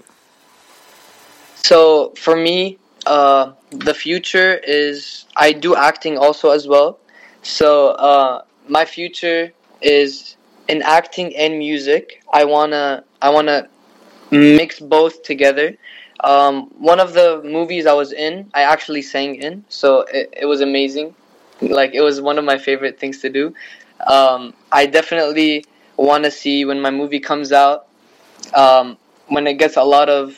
So for me, the future is I do acting also as well. So my future is in acting and music. I wanna mix both together. One of the movies I was in, I actually sang in, so it was amazing. Like, it was one of my favorite things to do. I definitely want to see when my movie comes out, when it gets a lot of,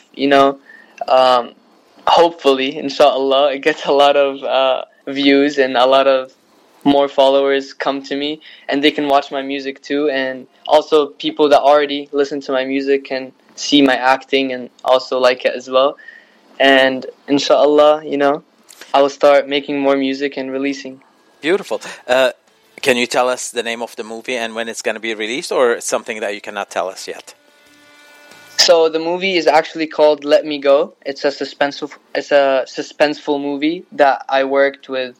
hopefully, inshallah, it gets a lot of views and a lot of more followers come to me, and they can watch my music too. And also people that already listen to my music can see my acting and also like it as well. And inshallah, I will start making more music and releasing. Beautiful. Can you tell us the name of the movie and when it's going to be released, or it's something that you cannot tell us yet? So the movie is actually called Let Me Go. It's a suspenseful movie that I worked with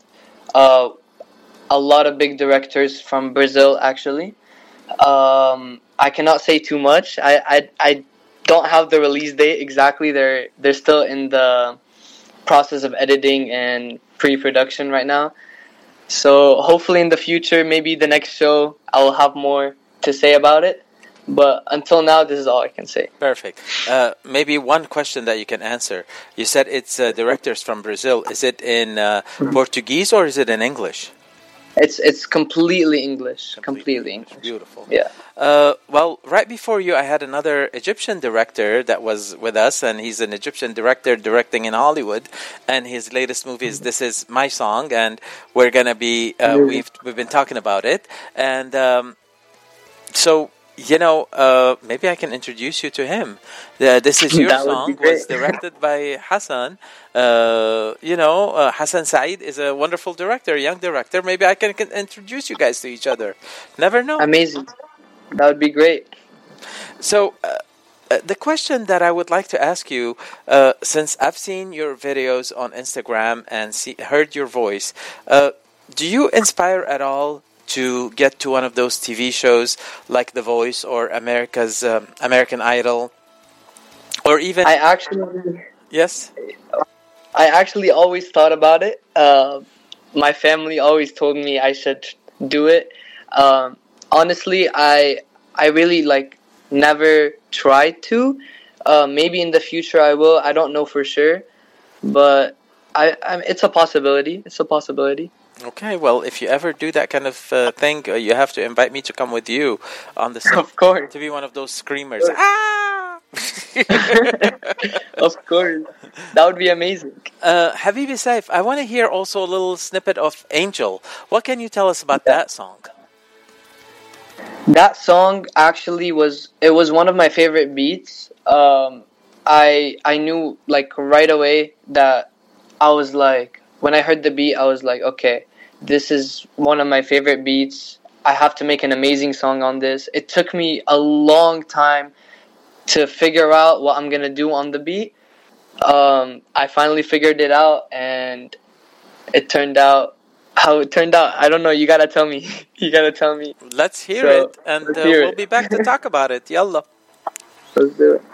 a lot of big directors from Brazil, actually. I cannot say too much. I don't have the release date exactly. They're still in the process of editing and pre-production right now. So hopefully in the future, maybe the next show, I will have more to say about it. But until now, this is all I can say. Perfect. Maybe one question that you can answer. You said it's directors from Brazil. Is it in Portuguese or is it in English? It's completely English. Completely English. Beautiful. Yeah. Well, right before you, I had another Egyptian director that was with us, and he's an Egyptian director directing in Hollywood, and his latest movie is "This Is My Song," and we're gonna be we've been talking about it, and so. Maybe I can introduce you to him. This Is Your Song was directed by Hassan. Hassan Saeed is a wonderful director, young director. Maybe I can introduce you guys to each other. Never know. Amazing. That would be great. So, the question that I would like to ask you, since I've seen your videos on Instagram and heard your voice, do you inspire at all to get to one of those TV shows like The Voice or American Idol, or even? Yes. I actually always thought about it. My family always told me I should do it. Honestly, I really never tried to. Maybe in the future I will. I don't know for sure, but it's a possibility. It's a possibility. Okay, well, if you ever do that kind of thing, you have to invite me to come with you on the set. Of course. To be one of those screamers. Ah! Of course. That would be amazing. Habibi Saif, I want to hear also a little snippet of Angel. What can you tell us about that song? That song actually was one of my favorite beats. I knew right away that I was when I heard the beat, I was like, okay, this is one of my favorite beats. I have to make an amazing song on this. It took me a long time to figure out what I'm going to do on the beat. I finally figured it out, and it turned out how it turned out. I don't know. You got to tell me. You got to tell me. Let's hear it, and we'll be back to talk about it. Yalla. Let's do it.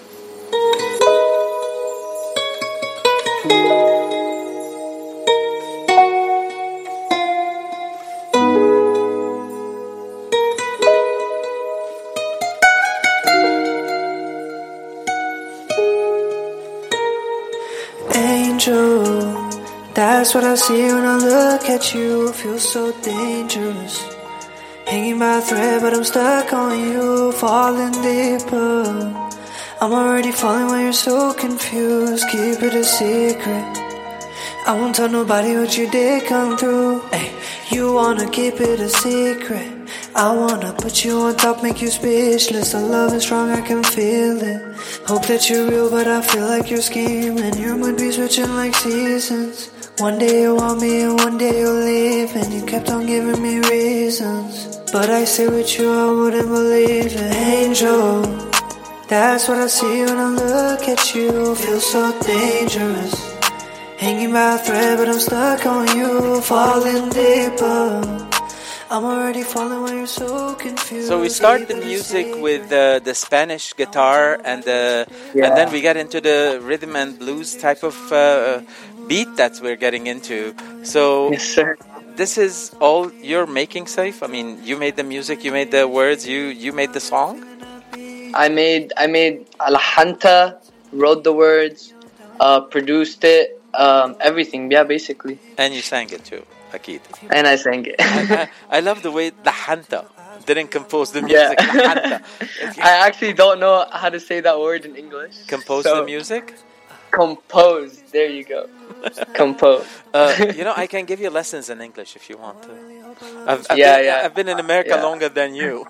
That's what I see when I look at you. Feel so dangerous. Hanging by a thread, but I'm stuck on you. Falling deeper. I'm already falling while you're so confused. Keep it a secret. I won't tell nobody what you did come through. Ay, you wanna keep it a secret. I wanna put you on top, make you speechless. The love is strong, I can feel it. Hope that you're real, but I feel like you're scheming. Your mood be switching like seasons. One day you want me and one day you'll leave. And you kept on giving me reasons, but I stay with you, I wouldn't believe it. Angel, that's what I see when I look at you. Feel so dangerous. Hanging by a thread, but I'm stuck on you. Falling deeper. I'm already falling when you're so confused. So we start the music with the Spanish guitar, and then we get into the rhythm and blues type of beat that we're getting into. So yes, sir. This is all you're making, Saif? I mean, you made the music, you made the words, you made the song? I made Alhanta, wrote the words, produced it, everything, yeah, basically. And you sang it too. Akid. And I sang it. I love the way Lahanta didn't compose the music. Yeah. I actually don't know how to say that word in English. Compose the music? Compose. There you go. Compose. I can give you lessons in English if you want to. I've been in America longer than you.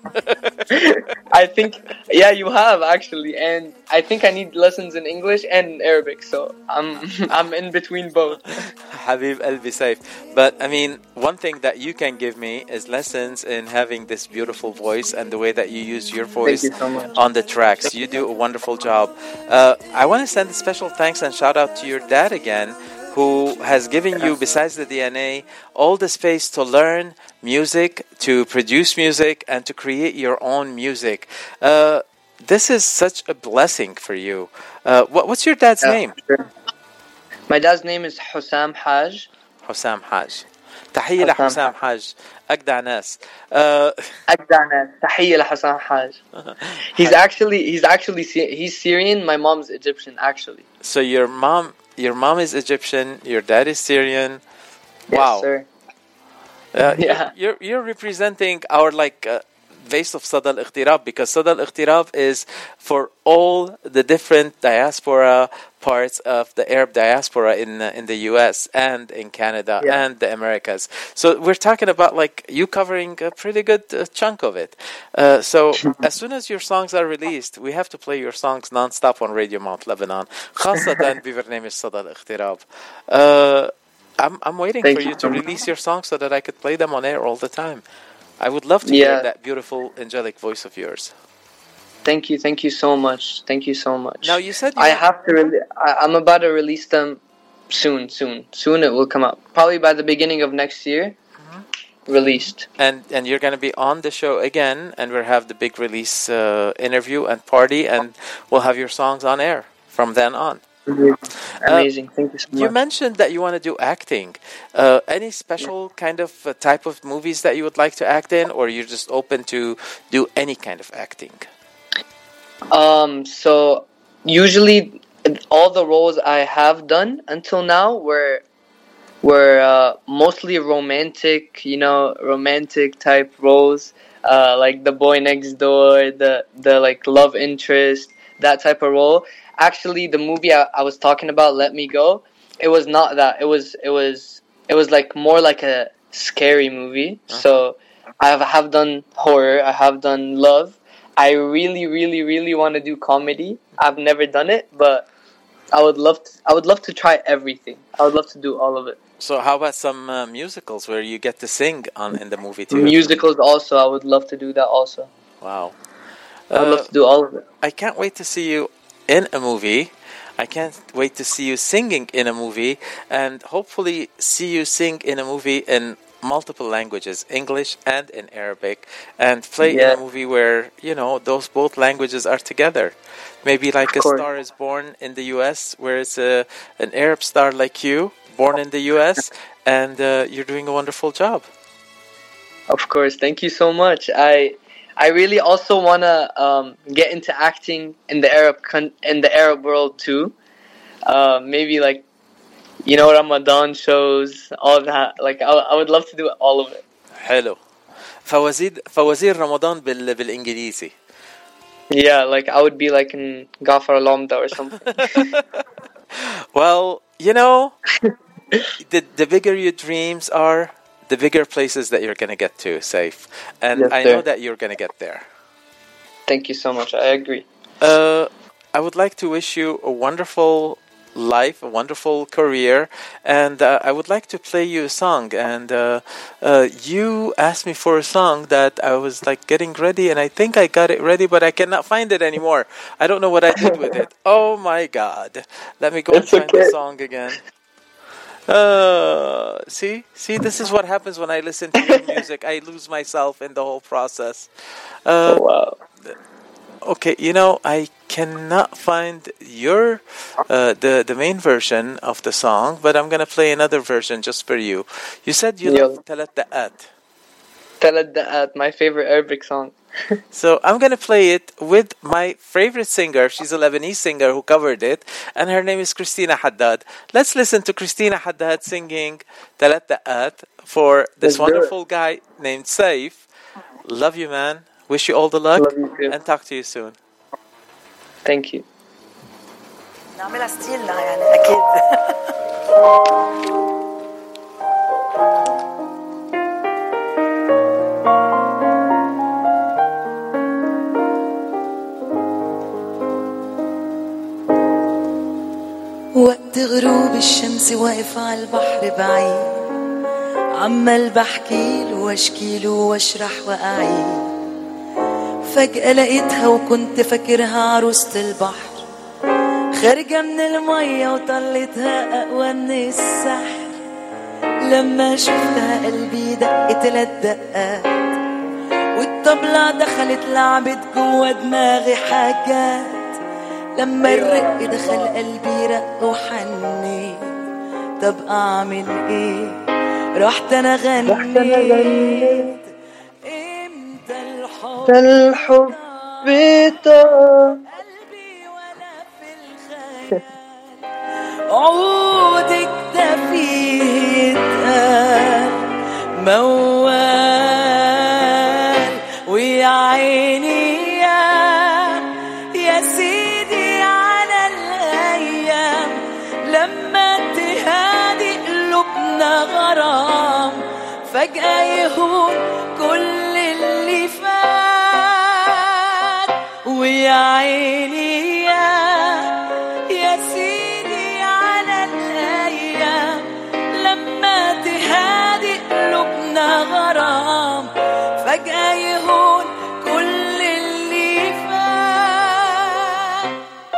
I think, you have actually, and I think I need lessons in English and Arabic, so I'm in between both. Habib Albi Saif. But I mean, one thing that you can give me is lessons in having this beautiful voice and the way that you use your voice on the tracks. You do a wonderful job. I want to send a special thanks and shout out to your dad again, who has given you, besides the DNA, all the space to learn music, to produce music, and to create your own music. This is such a blessing for you. What's your dad's name? Sure. My dad's name is Hussam Haj. Hussam Haj. تحية لحسام حاج أجدع ناس. أجدع ناس. تحية لحسام حاج. He's Syrian. My mom's Egyptian, actually. So your mom is Egyptian. Your dad is Syrian. Yes, wow. Sir. You're representing our base of Sada al-Ightirab, because Sada al-Ightirab is for all the different diaspora parts of the Arab diaspora in the US and in Canada and the Americas. So we're talking about you covering a pretty good chunk of it. So as soon as your songs are released, we have to play your songs non-stop on Radio Mount Lebanon. خاصة ببرنامج صدى الاغتراب. I'm waiting for you to release your songs so that I could play them on air all the time. I would love to hear that beautiful, angelic voice of yours. Thank you so much. Thank you so much. Now you said I'm about to release them soon. It will come out probably by the beginning of next year. Released, and you're going to be on the show again, and we'll have the big release interview and party, and we'll have your songs on air from then on. Amazing. Thank you so much. You mentioned that you want to do acting. Any special kind of type of movies that you would like to act in, or you're just open to do any kind of acting? So usually all the roles I have done until now were mostly romantic type roles, like the boy next door, the love interest, that type of role. Actually, the movie I was talking about, Let Me Go, it was not that. It was more like a scary movie. So I have done horror. I have done love. I really, really, really want to do comedy. I've never done it, but I would love to try everything. I would love to do all of it. So how about some musicals where you get to sing in the movie too? Musicals also. I would love to do that also. Wow. I would love to do all of it. I can't wait to see you in a movie. I can't wait to see you singing in a movie, and hopefully see you sing in a movie in multiple languages, English and in Arabic, and play in a movie where those both languages are together. Maybe like A Star Is Born in the US, where it's an Arab star like you, born in the US, and you're doing a wonderful job. Of course. Thank you so much. I really also want to get into acting in the Arab world too. Maybe Ramadan shows, all that. I would love to do all of it. حلو. فوازير رمضان بالإنجليزي. Yeah, I would be in Ghafar Lamda or something. Well, the bigger your dreams are, the bigger places that you're going to get to, Saif. And yes, I know that you're going to get there. Thank you so much. I agree. I would like to wish you a wonderful life, a wonderful career, and I would like to play you a song. And you asked me for a song that I was getting ready, and I think I got it ready, but I cannot find it anymore. I don't know what I did with it. Oh my God. Let me go and find the song again. See, this is what happens when I listen to your music. I lose myself in the whole process. Oh, wow. Okay, I cannot find your the main version of the song, but I'm gonna play another version just for you. You said you love Talat Da'at. Talat Da'at, my favorite Arabic song. So I'm gonna play it with my favorite singer. She's a Lebanese singer who covered it, and her name is Christina Haddad. Let's listen to Christina Haddad singing Talat Da'at for this wonderful guy named Saif. Love you, man. Wish you all the luck, and talk to you soon. Thank you. نعملها ستيلنا أكيد. وقت غروب الشمس واقف على البحر بعيد، عمال بحكيله واشكيله واشرح واعيد. فجأة لقيتها وكنت فاكرها عروسة البحر، خارجة من المية وطلتها أقوى من السحر. لما شفتها قلبي دق 3 دقات، والطبلة دخلت لعبت جوا دماغي حاجات. لما الرق دخل قلبي رق وحنيت، طب أعمل إيه؟ رحت أنا غنيت. الحب طار عودك ده فيه اتقال موال ويا عيني يا سيدي على الأيام لما تهادي قلوبنا غرام فجأة يهون كل اللي فات ويا عيني يا سيدي على الأيام لما تهادي قلوبنا غرام فجأة يهون كل اللي فات.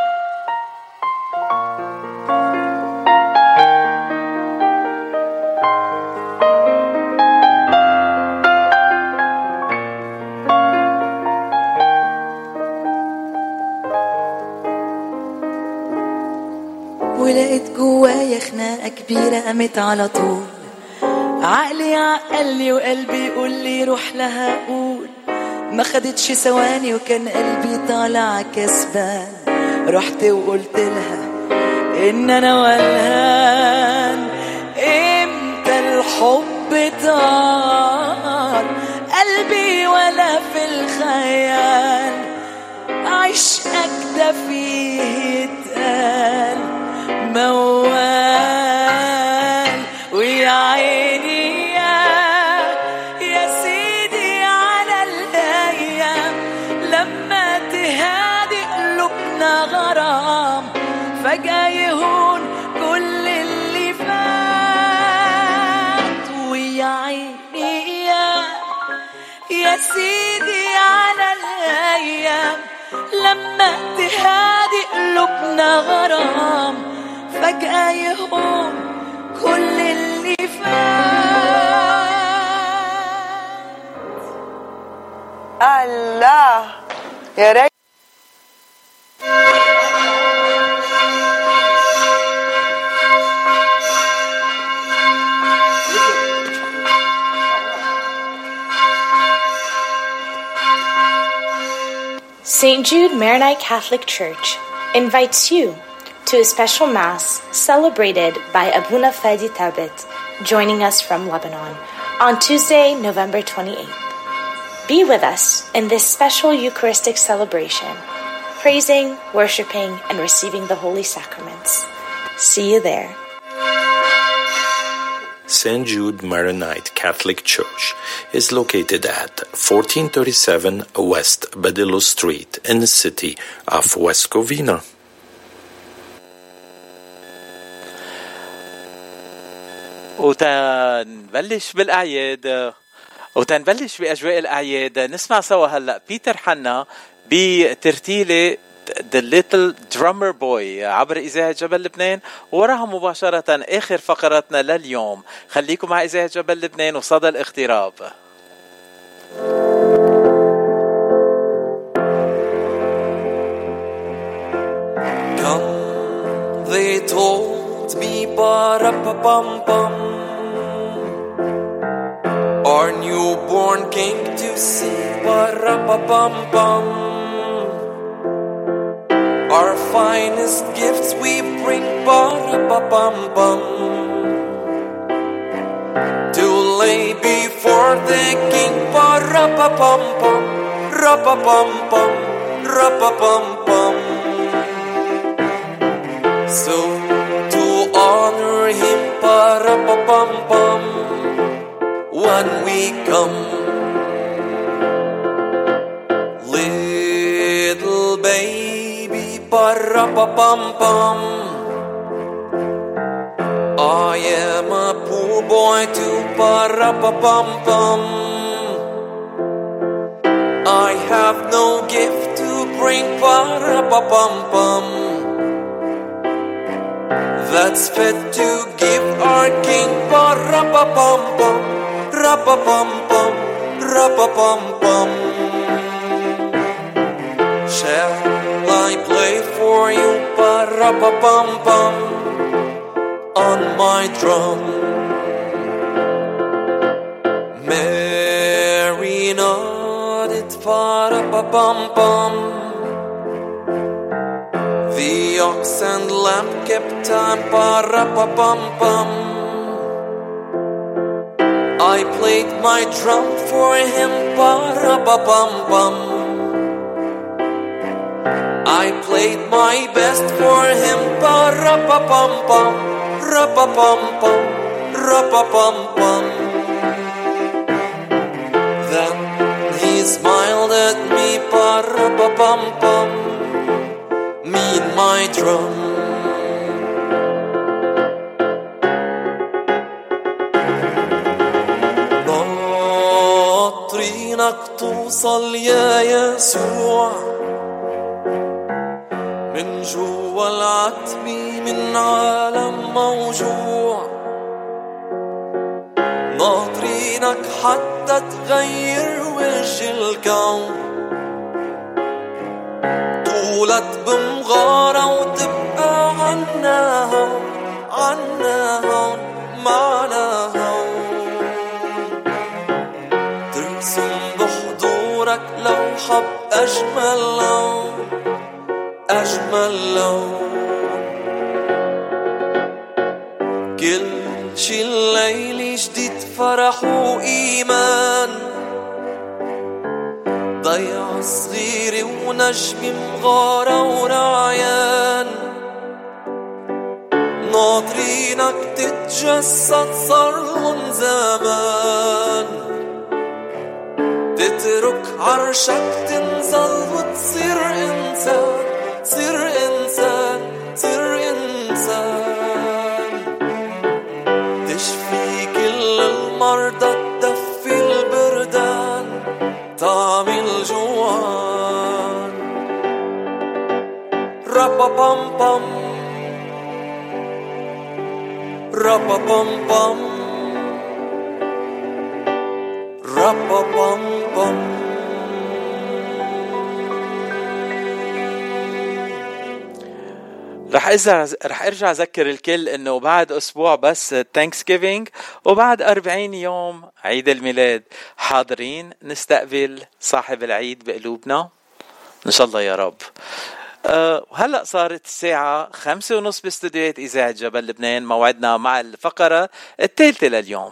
ولقيت جوايا خناقة كبيرة قامت على طول عقلي عقلي وقلبي يقول لي روح لها قول ما خدتش ثواني وكان قلبي طالع كسبان رحت وقلت لها ان انا ولهان امتى الحب طار قلبي ولا في الخيال عشقك ده فيه اتقال موال ويا عيني يا سيدي على الأيام لما تهادي قلوبنا غرام فجأة يهون كل اللي فات ويا عيني يا سيدي على الأيام لما تهادي قلوبنا غرام فجأة يهون كل اللي فات. الله يا ريت St. Jude Maronite Catholic Church invites you to a special Mass celebrated by Abuna Fadi Tabit, joining us from Lebanon, on Tuesday, November 28th. Be with us in this special Eucharistic celebration, praising, worshiping, and receiving the Holy Sacraments. See you there. St. Jude Maronite Catholic Church is located at 1437 West Badillo Street in the city of West Covina. وتنبلش بالأعياد وتنبلش بأجواء الأعياد نسمع سوا هلأ بيتر حنا بترتيلة The Little Drummer Boy عبر إذاعة جبل لبنان وراها مباشرة آخر فقراتنا لليوم. خليكم مع إذاعة جبل لبنان وصدى الاغتراب. Come, they told me, ba-ra-pa-bum-bum, our newborn king to see, ba-ra-pa-bum-bum. Our finest gifts we bring, ba-ra-pa-bum-bum, to lay before the king, ba-ra-pa-bum-bum, ra-pa-bum-bum, ra-pa-bum-bum. So to honor him, ba-ra-pa-bum-bum, when we come, little baby, ba-ra-pa-bum-bum, I am a poor boy too, ba-ra-pa-bum-bum, I have no gift to bring, ba-ra-pa-bum-bum, that's fit to give our king, ba-ra-pa-bum-bum, ra-pa-bum-bum, ra-pa-bum-bum. Shall I play for you, ba-ra-pa-bum-bum, on my drum? Mary nodded, ba-ra-pa-bum-bum. The ox and lamb kept time, ba-ra-pa-bum-bum. I I played my drum for him, ba-ra-ba-bum-bum. I played my best for him, ba-ra-ba-bum-bum, ra-ba-bum-bum, ra-ba-bum-bum. Then he smiled at me, ba-ra-ba-bum-bum, me and my drum. ناطرينك توصل يا يسوع من جوا العتمة من عالم موجوع. ناطرينك حتى تغير وجه الكون، طولت بمغارة وتبقى عنا هون، عنا هون، معنا هون. ترسم بحضورك لوحة بأجمل لون، أجمل لون. كل شي الليل جديد فرح وإيمان، ضيعة صغيرة ونجم مغارة ورعيان. ناطرينك تتجسد صارلن زمان، تترك عرشك تنزل وتصير إنسان، تصير إنسان، تصير إنسان. تشفي كل المرضى، تدفي البردان، طعم الجوعان. رابا-بام-بام، رابا-بام-بام، رابا-بام-بام. رح ارجع اذكر الكل انه بعد اسبوع بس Thanksgiving وبعد 40 يوم عيد الميلاد. حاضرين نستقبل صاحب العيد بقلوبنا ان شاء الله يا رب. هلأ صارت الساعة 5:30 باستديوهات إذاعة جبل لبنان. موعدنا مع الفقرة الثالثة لليوم.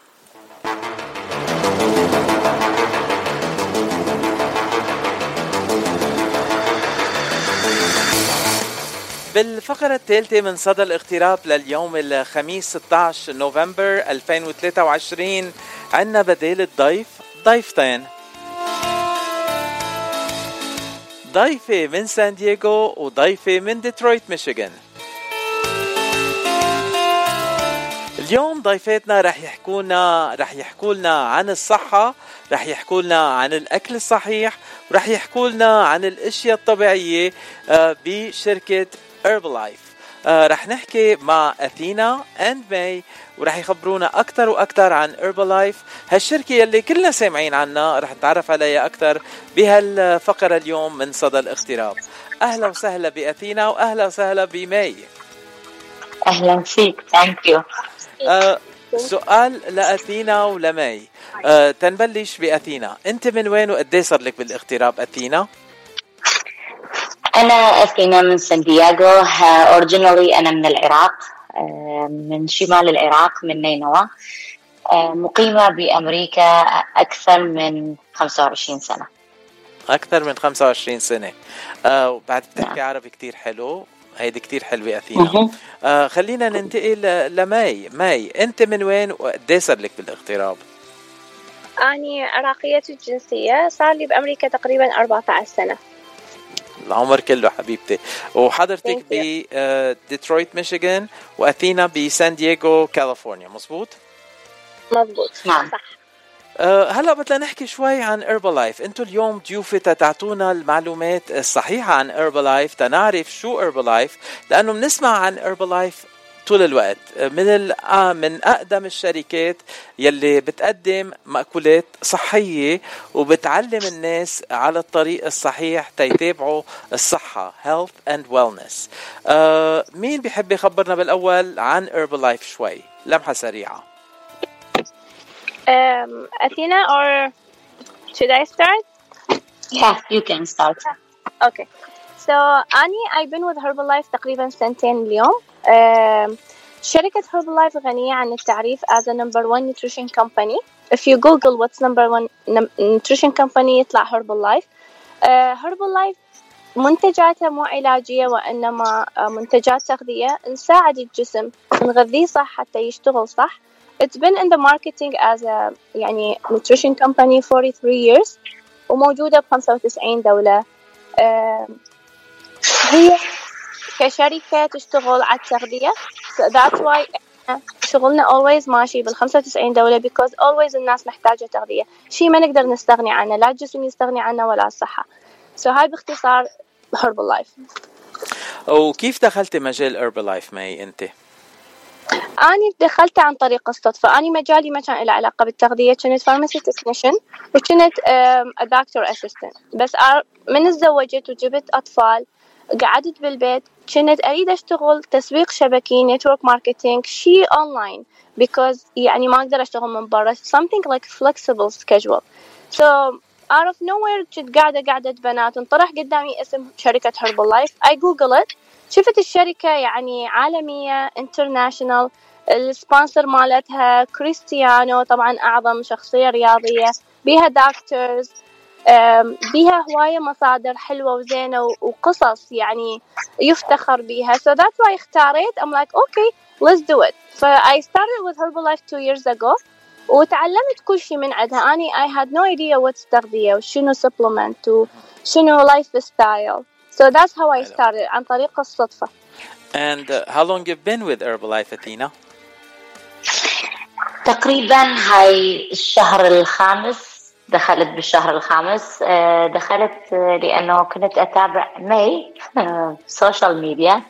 بالفقرة الثالثة من صدى الاغتراب لليوم الخميس 16 نوفمبر 2023 عنا بديل الضيف ضيفتين، ضيفة من سان دييغو وضيفة من ديترويت ميشيغان. اليوم ضيفاتنا رح يحكوا لنا عن الصحة، رح يحكوا لنا عن الأكل الصحيح، ورح يحكوا لنا عن الأشياء الطبيعية بشركة Herbalife. رح نحكي مع أثينا and ماي ورح يخبرونا أكتر وأكتر عن Herbalife، هالشركة يلي كلنا سامعين عنها. رح نتعرف عليها أكتر بهالفقرة اليوم من صدى الاغتراب. أهلا وسهلا بأثينا وأهلا وسهلا بماي. أهلا فيك. Thank you. سؤال لأثينا ولماي. تنبلش بأثينا، أنت من وين وقديه صار لك بالاغتراب أثينا؟ أنا أثينا من سان دييغو. originally أنا من العراق، من شمال العراق من نينوى. مقيمة بأمريكا أكثر من 25 سنة. أكثر من 25 سنة. وبعد بتحكي عربي كتير حلو، هيدي كتير حلوة أثينا. خلينا ننتقل لماي. ماي، أنت من وين وقديه صار لك بالاغتراب؟ أنا عراقية الجنسية، صار لي بأمريكا تقريبا 14 سنة. العمر كله حبيبتي. وحضرتك بديترويت ميشيغان وأثينا بسان دييغو كاليفورنيا، مزبوط؟ مزبوط، نعم صح. هلأ بدنا نحكي شوي عن Herbalife. انتو اليوم ضيوفة تعطونا المعلومات الصحيحة عن Herbalife، تنعرف شو Herbalife، لأنه بنسمع عن Herbalife طول الوقت. من أقدم الشركات يلي بتقدم مأكولات صحية وبتعلم الناس على الطريق الصحيح تيتابعوا الصحة health and wellness. مين بيحب يخبرنا بالأول عن Herbalife شوي لمحة سريعة؟ Athena, or should I start? Yeah, you can start. Okay. So I've been with Herbalife تقريبا سنتين اليوم. شركة Herbalife غنية عن التعريف as a number one nutrition company. If you Google what's number one nutrition company يطلع Herbalife. Herbalife منتجاتها مو علاجية وإنما منتجات تغذية نساعد الجسم نغذيه صح حتى يشتغل صح. It's been in the marketing as a يعني nutrition company 43 years وموجودة ب95 دولة. هي كشركة تشتغل على التغذية. So that's why شغلنا always ماشي بال95 دولة because always الناس محتاجة تغذية. شيء ما نقدر نستغني عنه، لا الجسم يستغني عنه ولا الصحة. So هاي باختصار Herbalife. وكيف دخلت مجال Herbalife ماي أنت؟ أنا دخلت عن طريق الصدفة. أنا مجالي ما كان له علاقة بالتغذية، كنت pharmacy technician وكنت a doctor assistant. بس من اتزوجت وجبت أطفال قعدت بالبيت كنت أريد أشتغل تسويق شبكي network marketing شيء online because يعني ما أقدر أشتغل من برا something like flexible schedule. So out of nowhere كنت قاعدة بنات انطرح قدامي اسم شركة Herbalife. I Google it شفت الشركة يعني عالمية international. السبونسر مالتها كريستيانو طبعا أعظم شخصية رياضية، بيها دكتورز، بيها هواية مصادر حلوة وزينة وقصص يعني يفتخر بيها. So that's why اختاريت. I'm like okay let's do it. So I started with Herbalife 2 years ago وتعلمت كل شيء من عندها. أني I had no idea what's تغذية وشنو supplement وشنو lifestyle. So that's how I started عن طريق الصدفة. And how long you've been with Herbalife أثينا؟ تقريبا هاي الشهر الخامس، دخلت بالشهر الخامس. دخلت لأنه كنت أتابع ماي سوشيال ميديا.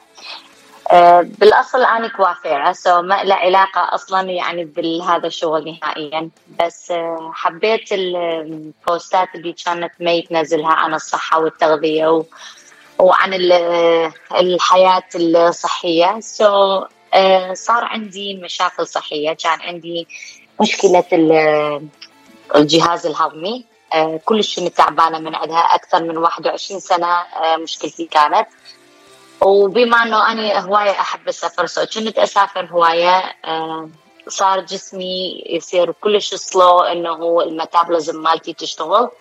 بالأصل أنا كوافيرة ما له علاقة أصلا يعني بهذا الشغل نهائيا، بس حبيت البوستات اللي كانت ماي تنزلها عن الصحة والتغذية وعن الحياة الصحية. صار عندي مشاكل صحية، كان عندي مشكلة الجهاز الهضمي. كلش كنت تعبانة من عندها أكثر من 21 سنة مشكلتي كانت. وبما أنه أنا هواية أحب السفر كنت أسافر هواية، صار جسمي يصير كلش سلو إنه الميتابوليزم مالتي تشتغل.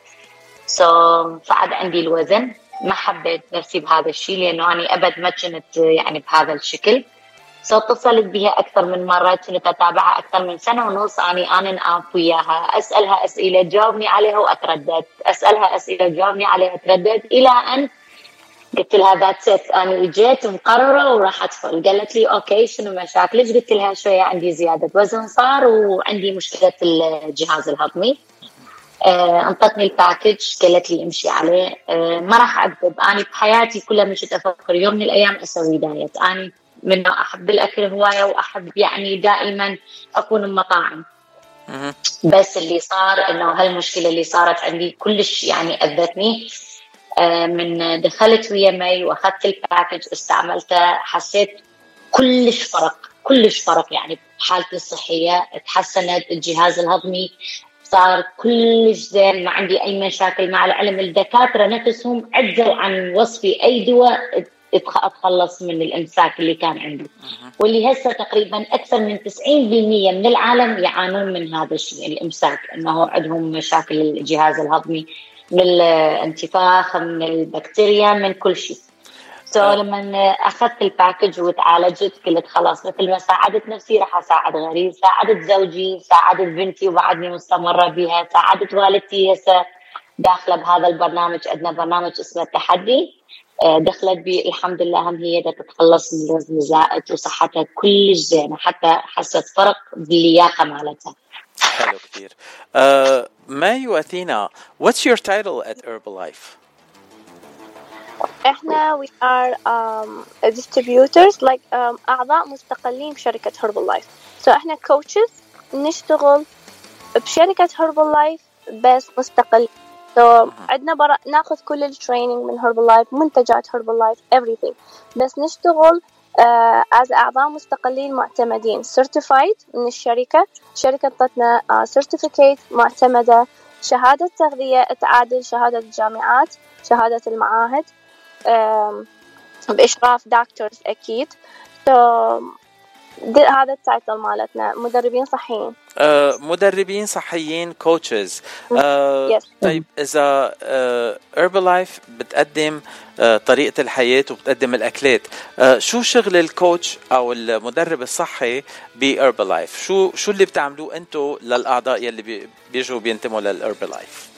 فعد عندي الوزن. ما حبيت نفسي بهذا الشيء لأنه أنا أبد ما كنت يعني بهذا الشكل. اتصلت بها أكثر من مرة، كنت أتابعها أكثر من سنة ونص. أنا وياها أسألها أسئلة تجاوبني عليها وأتردد، أسألها أسئلة تجاوبني عليها أتردد، إلى أن قلت لها ذات ست أنا جيت مقررة وراح أدخل. قالت لي أوكي شنو مشاكلك؟ قلت لها شوية عندي زيادة وزن صار وعندي مشكلة الجهاز الهضمي. انطتني الباكج قالت لي امشي عليه. ما راح أكذب، أنا بحياتي كلها مشيت أفكر يوم من الأيام أسوي دايت. أنا منه أحب الأكل هواية وأحب يعني دائما أكون بمطاعم. بس اللي صار إنه هالمشكلة اللي صارت عندي كلش يعني أذتني. من دخلت ويا ماي وأخذت الباكج استعملته حسيت كلش فرق يعني بحالتي الصحية. تحسنت الجهاز الهضمي، صار كلش زين، ما عندي أي مشاكل. مع العلم الدكاترة نفسهم عجزوا عن وصفي أي دواء أتخلص من الإمساك اللي كان عندي، واللي هسه تقريبا أكثر من 90% من العالم يعانون من هذا الشيء الإمساك، أنه عندهم مشاكل الجهاز الهضمي من الانتفاخ، من البكتيريا، من كل شيء. لما أخذت الباكج وتعالجت قلت خلاص مثل ما ساعدت نفسي راح أساعد غيري. ساعدت زوجي، ساعدت بنتي وبعدني مستمرة بها، ساعدت والدتي هسه داخلة بهذا البرنامج. عندنا برنامج اسمه التحدي، دخلت بي الحمد لله. هم هي تتخلص من الوزن الزائد وصحتها كلش زينة، حتى حست فرق باللياقة مالتها. حلو كتير. ماي وأثينا, what's your title at Herbalife? احنا we are distributors like أعضاء مستقلين بشركة Herbalife. So احنا coaches نشتغل بشركة Herbalife بس مستقل. So عندنا ناخذ كل التريننج من Herbalife، منتجات Herbalife everything، بس نشتغل as أعضاء مستقلين معتمدين certified من الشركة تعطتنا certificate معتمدة، شهادة تغذية تعادل شهادة الجامعات، شهادة المعاهد، بإشراف دكتورز أكيد. So هذا التايتل مالتنا، مدربين صحيين. مدربين صحيين coaches. طيب إذا Herbalife بتقدم طريقة الحياة وبتقدم الأكلات، شو شغل الكوتش أو المدرب الصحي بHerbalife؟ شو اللي بتعملوه أنتوا للأعضاء يلي بيجوا بينتموا للHerbalife؟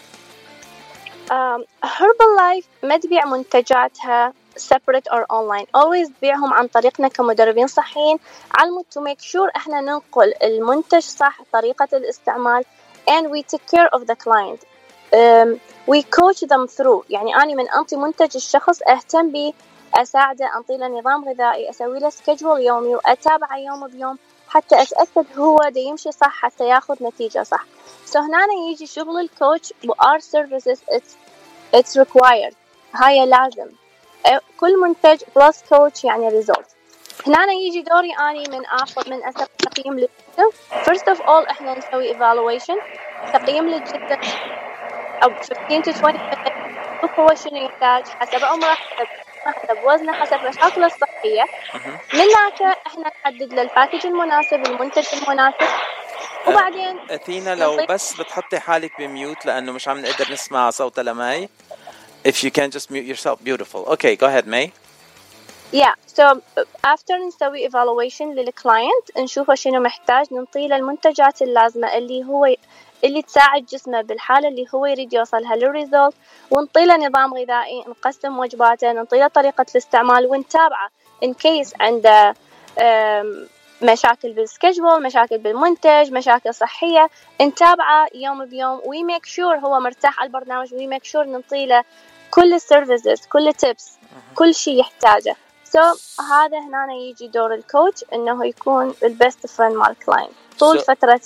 Herbalife ما تبيع منتجاتها separate or online. always تبيعهم عن طريقنا كمدربين صحيين على to make sure احنا ننقل المنتج صح، طريقة الاستعمال and we take care of the client. we coach them through. يعني أنا من أنطي منتج الشخص أهتم به، أساعده، أنطي له نظام غذائي، أسوي له schedule يومي وأتابعه يوم بيوم حتى أتأكد هو دا يمشي صح حتى ياخذ نتيجة صح. so هنا يجي شغل الكوتش و our services it's required. هاي لازم كل منتج plus coach يعني result. هنا يجي دوري أني من أسوي تقييم للجسم. first of all إحنا نسوي evaluation، تقييم للجسم أو 15 to 20 minutes. شوف هو شنو يحتاج حسب عمره، حسب وزنه، حسب مشاكله الصحية. من هناك إحنا نحدد له الباكج المناسب، المنتج المناسب. وبعدين أثينا لو بس بتحطي حالك بميوت لأنه مش عم نقدر نسمع صوت لماي. If you can just mute yourself, beautiful. Okay, go ahead, May. Yeah, so after نسوي evaluation للclient نشوفه شنو محتاج، ننطي له المنتجات اللازمة اللي تساعد جسمه بالحالة اللي هو يريد يوصلها للريزولت، ونطي له نظام غذائي، نقسم وجباته، ننطي له طريقة الاستعمال ونتابعه in case عنده مشاكل بالسكجول، مشاكل بالمنتج، مشاكل صحية، نتابعه يوم بيوم we make sure هو مرتاح على البرنامج we make sure ننطي له كل السيرفيسز، كل tips، كل شيء يحتاجه. هذا هنا يجي دور الكوتش انه يكون البست فريند مال الكلاينت طول فترة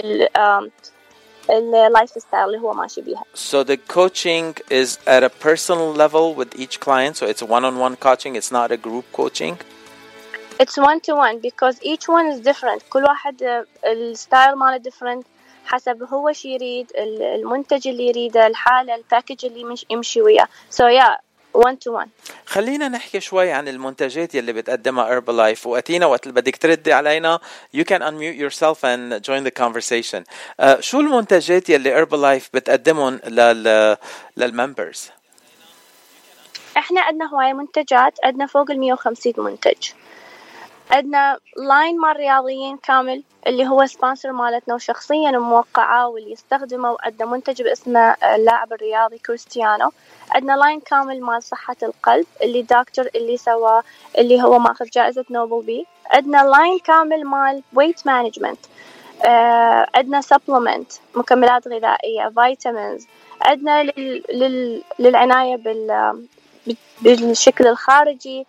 اللايف ستايل اللي هو ماشي بيها. So the coaching is at a personal level with each client, so it's one-on-one coaching, it's not a group coaching. It's one-to-one because each one is different. كل واحد الستايل ماله different حسب هو شي يريد، المنتج اللي يريده، الحالة، الباكج اللي يمشي وياه. So yeah, one-to-one. خلينا نحكي شوي عن المنتجات يلي بتقدمها Herbalife. وأتينا وقت اللي بدك تردي علينا you can unmute yourself and join the conversation. شو المنتجات يلي Herbalife بتقدمهم للممبرز؟ احنا عندنا هواية منتجات، عندنا فوق 150 منتج. عندنا لاين مال رياضيين كامل اللي هو سبونسر مالتنا وشخصيا موقعة واللي يستخدمه، وعندنا منتج باسمه اللاعب الرياضي كريستيانو. عندنا لاين كامل مال صحة القلب اللي دكتور اللي سواه اللي هو ماخذ جائزة نوبل بيه. عندنا لاين كامل مال ويت مانجمنت. عندنا سبلمنت مكملات غذائية، فيتامينز. عندنا للعناية بالشكل الخارجي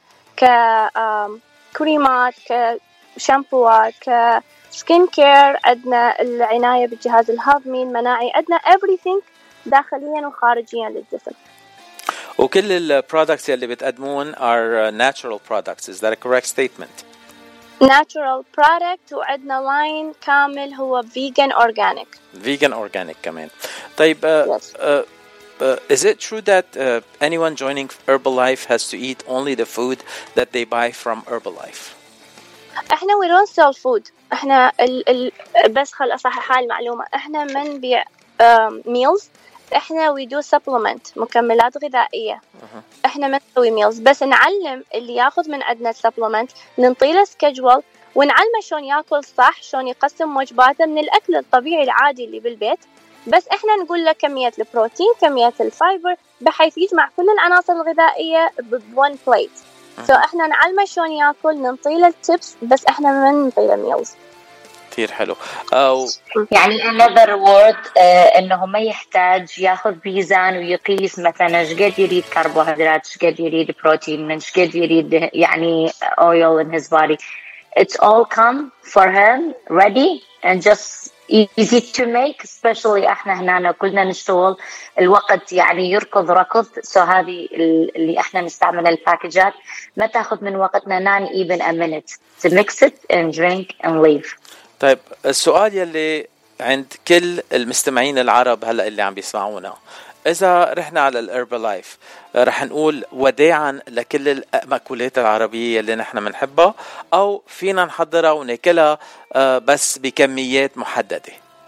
كريمات، كشامبوات، كسكين كير. عندنا العناية بالجهاز الهضمي، المناعي. عندنا everything داخليا وخارجيا للجسم. وكل البرودكتس اللي بتقدمون are natural products. Is that a correct statement? Natural product. وعندنا لاين كامل هو vegan organic. Vegan organic كمان. طيب is it true that anyone joining Herbalife has to eat only the food that they buy from Herbalife? احنا we don't sell food. احنا بس خل اصحح هاي المعلومة، احنا ما نبيع meals. احنا we do supplement مكملات غذائية. احنا ما نسوي meals، بس نعلم اللي ياخذ من عندنا supplement، ننطي له schedule ونعلمه شلون ياكل صح، شلون يقسم وجباته من الاكل الطبيعي العادي اللي بالبيت. بس احنا نقول له كمية البروتين، كمية الفايبر، بحيث يجمع كل العناصر الغذائية بone plate. احنا نعلمه شلون ياكل، ننطي له التبس، بس احنا ما ننطي له ميلز. كثير حلو. يعني another word انه ما يحتاج ياخذ بيزان ويقيس مثلا ايش قد يريد كربوهيدرات، ايش قد يريد بروتين، ايش قد يريد يعني oil in his body. It's all come for him ready and just easy to make. especially احنا هنا كلنا نشتغل الوقت يعني يركض ركض. هذه اللي احنا نستعمل الباكجات ما تاخذ من وقتنا not even a minute to mix it and drink and leave. طيب السؤال يلي عند كل المستمعين العرب هلا اللي عم بيسمعونا، إذا رحنا على الهربلايف رح نقول وداعا لكل المأكولات العربية اللي نحن منحبها، أو فينا نحضرها وناكلها بس بكميات محددة؟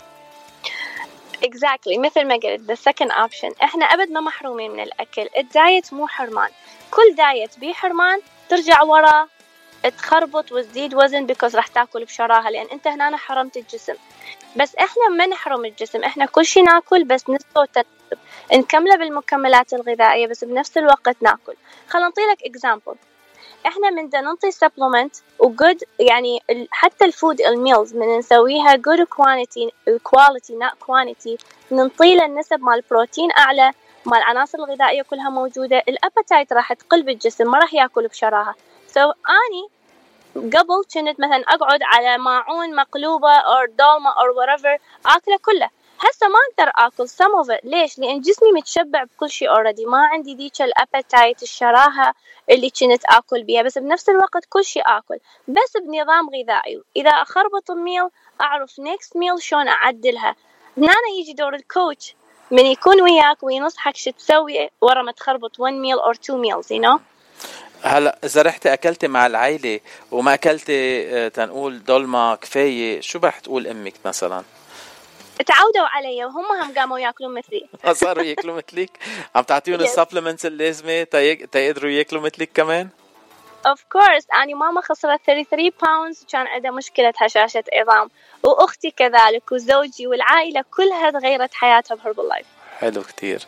exactly مثل ما قلت the second option. احنا أبد ما محرومين من الأكل. الدايت مو حرمان، كل دايت بيه حرمان ترجع ورا تخربط وتزيد وزن because راح تاكل بشراهة، لأن أنت هنا حرمت الجسم. بس إحنا ما نحرم الجسم، إحنا كل شيء ناكل بس نسبة وتناسب، نكمله بالمكملات الغذائية بس بنفس الوقت ناكل. خلنا نعطيلك example. إحنا من ننطي supplement وgood، يعني حتى الفود الميلز من نسويها good quality not quantity، ننطيله النسب مال البروتين أعلى، مال العناصر الغذائية كلها موجودة. الأبتايت راح تقل بالجسم، ما راح يأكل بشراهة. أني قبل كنت مثلا أقعد على ماعون مقلوبة أو دولمة أو whatever أكله كله، هسه ما أقدر أكل some of it. ليش؟ لأن جسمي متشبع بكل شيء already، ما عندي ديك الأبتايت الشراهة اللي كنت أكل بيها، بس بنفس الوقت كل شيء أكل بس بنظام غذائي. إذا أخربط الميل أعرف next meal شون أعدلها. هنا يجي دور الكوتش من يكون وياك وينصحك شو تسوي ورا ما تخربط 1 meal or 2 meals you know. هلا إذا رحتي أكلتي مع العائلة وما أكلتي تنقول دولمة كفاية، شو رح تقول أمك مثلا؟ تعودوا علي وهم هم قاموا يأكلون مثلي. صاروا يأكلوا مثلك؟ عم تعطيهم السبلمنتس اللازمة تقدروا يأكلوا مثلك كمان؟ of course. أنا ماما خسرت 33 pounds وكان عندها مشكلة هشاشة عظام، وأختي كذلك وزوجي والعائلة كلها تغيرت حياتها بهربلايف. حلو كتير.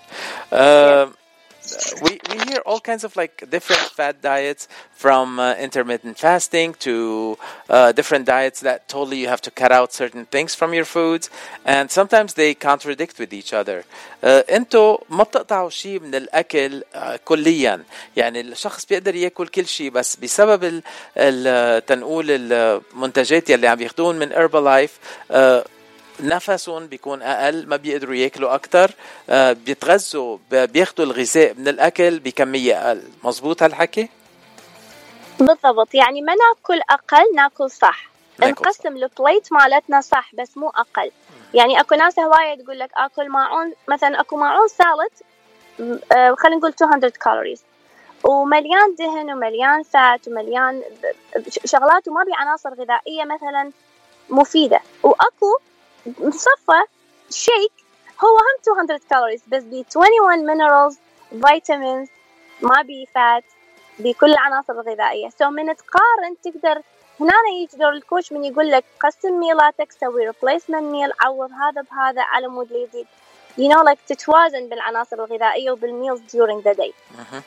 We hear all kinds of like different fad diets, from intermittent fasting to different diets that totally you have to cut out certain things from your foods, and sometimes they contradict with each other. انتو ما بتقطعوا شيء من الأكل كليا، يعني الشخص بيقدر يأكل كل شيء بس بسبب تنقول المنتجات يلي عم ياخدون من هربلايف نفسهم بيكون أقل، ما بيقدروا يأكلوا أكتر، بيتغذوا بياخدوا الغذاء من الأكل بكمية أقل. مظبوط هالحكي؟ بالضبط، يعني ما ناكل أقل، ناكل صح، نقسم البليت مالتنا صح بس مو أقل. يعني أكو ناس هواية تقول لك أكل ماعون، مثلا أكو ماعون سالت خلينا نقول 200 كالوريز ومليان دهن ومليان فات ومليان شغلات وما بي عناصر غذائية مثلا مفيدة، وأكو مصفى شيك هو هم 200 كالوريز بس بي 21 minerals vitamins، ما بي فات، بكل العناصر الغذائية. من تقارن تقدر هنا يجي دور الكوتش من يقول لك قسم ميلاتك، سوي replacement meal، عوض هذا بهذا على مود اللي يزيد you know like تتوازن بالعناصر الغذائية وبالميلز during the day.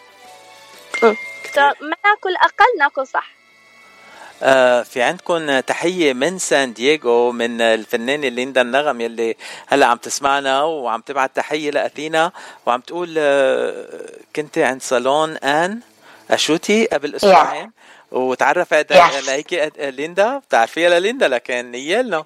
ما ناكل أقل، ناكل صح. في عندكم تحية من سان دييغو من الفنانة ليندا النغم يلي هلأ عم تسمعنا وعم تبعت تحية لأثينا، وعم تقول كنت عند صالون آن أشوتي قبل أسبوعين وتعرفت عليك ليندا. بتعرفيها لليندا لكن نيالنا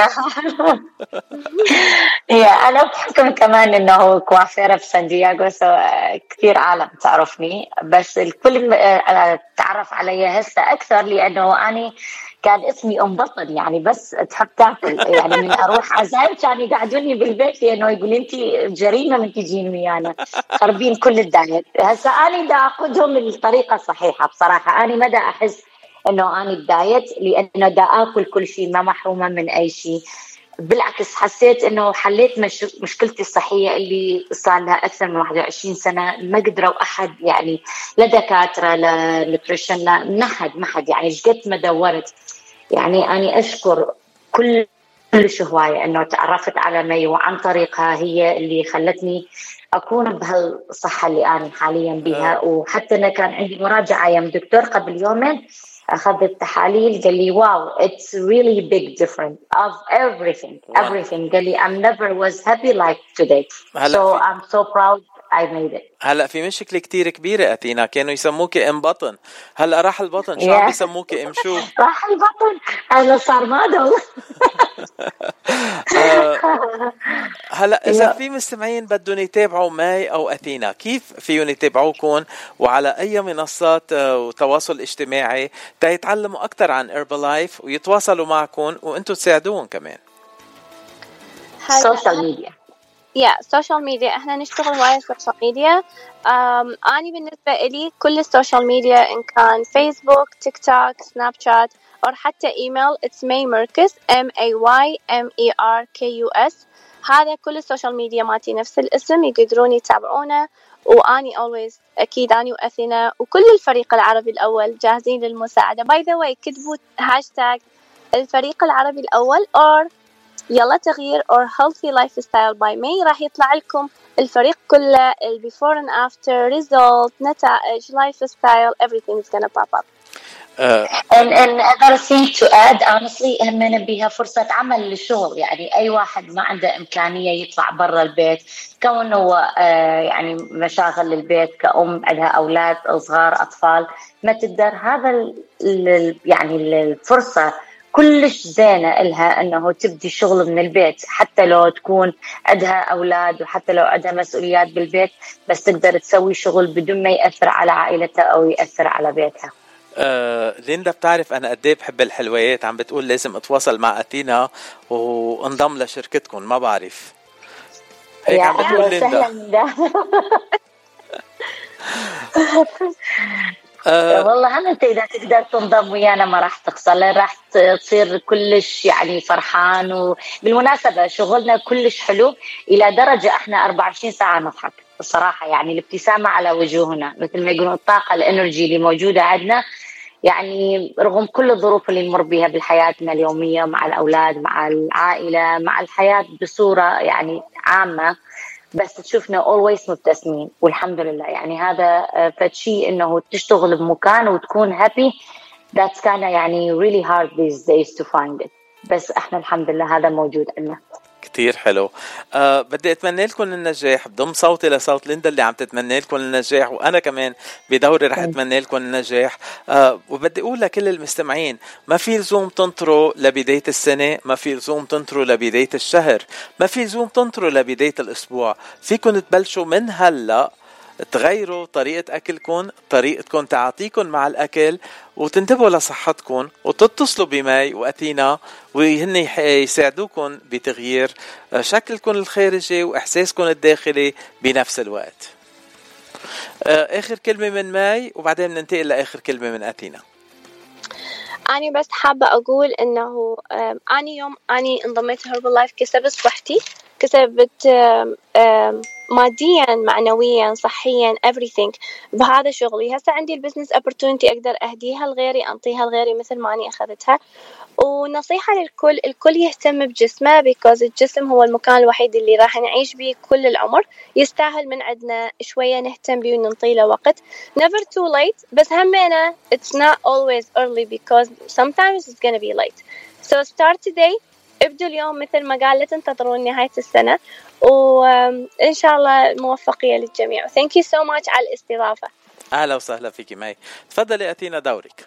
أنا بحكم كمان إنه كوافيرة في سان دييغو، كثير عالم تعرفني، بس الكل تعرف علي هسه أكثر لأنه أنا كان اسمي أم بطل، يعني بس تحب تاكل. يعني من أروح عزايم كانوا يقعدوني بالبيت لأنه يقول أنتي جريمة من تجين ويانا خربين كل الدايت. هسه أنا دا أخذهم الطريقة الصحيحة بصراحة. أنا ما دا أحس إنه أنا الدايت لأنه دا أكل كل شيء، ما محرومة من أي شيء. بالعكس حسيت إنه حليت مشكلتي الصحية اللي صار لها أكثر من 21 سنة. ما قدروا أحد، يعني لا دكاترة لا نوتريشن لا ما حد يعني شقد ما دورت. يعني أنا أشكر كل هواية إنه تعرفت على مي، وعن طريقها هي اللي خلتني أكون بهالصحة اللي أنا حاليا بها. وحتى أنا كان عندي مراجعة يوم دكتور قبل يومين، أخذت تحاليل قال لي واو it's really big difference of everything. قال لي I'm never was happy like today, so I'm so proud I made it. هلا في مشكلة كتير كبيرة أثينا، كانوا يسموك ام بطن، هلا راح البطن شو عم بيسموك ام شو؟ راح البطن، أنا صار مادو. هلا إذا في مستمعين بدهم يتابعوا ماي أو أثينا، كيف فيهم يتابعوكم وعلى أي منصات وتواصل اجتماعي تيتعلموا أكتر عن هربلايف ويتواصلوا معكم وأنتوا تساعدوهم كمان؟ سوشيال ميديا. سوشيال ميديا احنا نشتغل هواية سوشيال ميديا. أنا بالنسبة إلي كل السوشيال ميديا إن كان فيسبوك، تيك توك، سناب شات أو حتى إيميل it's May Merkus MAYMERKUS. هذا كل السوشيال ميديا مالتي نفس الاسم، يقدرون يتابعونه. وأني always أكيد أني وأثينا وكل الفريق العربي الأول جاهزين للمساعدة. by the way كتبوا هاشتاج الفريق العربي الأول or يلا تغيير or healthy lifestyle by May، راح يطلع لكم الفريق كله ال before and after result نتائج lifestyle everything is gonna pop up. And another thing to add honestly همنا بيها فرصة عمل للشغل. يعني أي واحد ما عنده إمكانية يطلع برا البيت كونه يعني مشاغل للبيت كأم عندها أولاد صغار أطفال ما تقدر، هذا يعني الفرصة كلش زينة إلها أنه تبدي شغل من البيت حتى لو تكون عندها أولاد وحتى لو عندها مسؤوليات بالبيت، بس تقدر تسوي شغل بدون ما يأثر على عائلتها أو يأثر على بيتها. ليندا بتعرف أنا قديه بحب الحلويات، عم بتقول لازم أتواصل مع أتينا وانضم لشركتكم، ما بعرف هيك عم بتقول ليندا. والله هم انت اذا تقدر تنضم ويانا ما راح تخسر، لان راح تصير كلش يعني فرحان. وبالمناسبه شغلنا كلش حلو الى درجه احنا 24 ساعه نضحك الصراحه، يعني الابتسامه على وجوهنا مثل ما يقولون الطاقه الانرجي اللي موجوده عندنا، يعني رغم كل الظروف اللي نمر بها بحياتنا اليوميه مع الاولاد مع العائله مع الحياه بصوره يعني عامه، بس تشوفنا always مبتسمين والحمد لله. يعني هذا فشي إنه تشتغل بمكان وتكون happy that's kind of يعني really hard these days to find it، بس إحنا الحمد لله هذا موجود عندنا. كتير حلو. بدي أتمنى لكم النجاح، بضم صوتي لصوت ليندا اللي عم تتمنى لكم النجاح، وأنا كمان بدوري رح أتمنى لكم النجاح. وبدي أقول لكل المستمعين ما في لزوم تنطروا لبداية السنة، ما في لزوم تنطروا لبداية الشهر، ما في لزوم تنطروا لبداية الأسبوع. فيكم تبلشوا من هلأ تغيروا طريقة أكلكم، طريقتكم تعاطيكم مع الأكل، وتنتبهوا لصحتكم وتتصلوا بماي وأتينا وهن يساعدوكم بتغيير شكلكم الخارجي وإحساسكم الداخلي بنفس الوقت. آخر كلمة من ماي وبعدين ننتقل لآخر كلمة من أتينا. أنا بس حابة أقول إنه أنا يوم أنا انضميت هربلايف كسبت صحتي، كسبت ماديا معنويا صحيا everything بهذا شغلي. هسه عندي البزنس opportunity أقدر أهديها لغيري أنطيها لغيري مثل ما أنا أخذتها. ونصيحة للكل، الكل يهتم بجسمه because الجسم هو المكان الوحيد اللي راح نعيش به كل العمر، يستاهل من عندنا شوية نهتم به وننطي له وقت. never too late، بس همينا it's not always early because sometimes it's gonna be late. so start today، ابدوا اليوم مثل ما قال، لا تنتظرون نهاية السنة، وإن شاء الله موفقية للجميع. thank you so much على الاستضافة. أهلا وسهلا فيكي ماي، تفضلي أتينا دورك.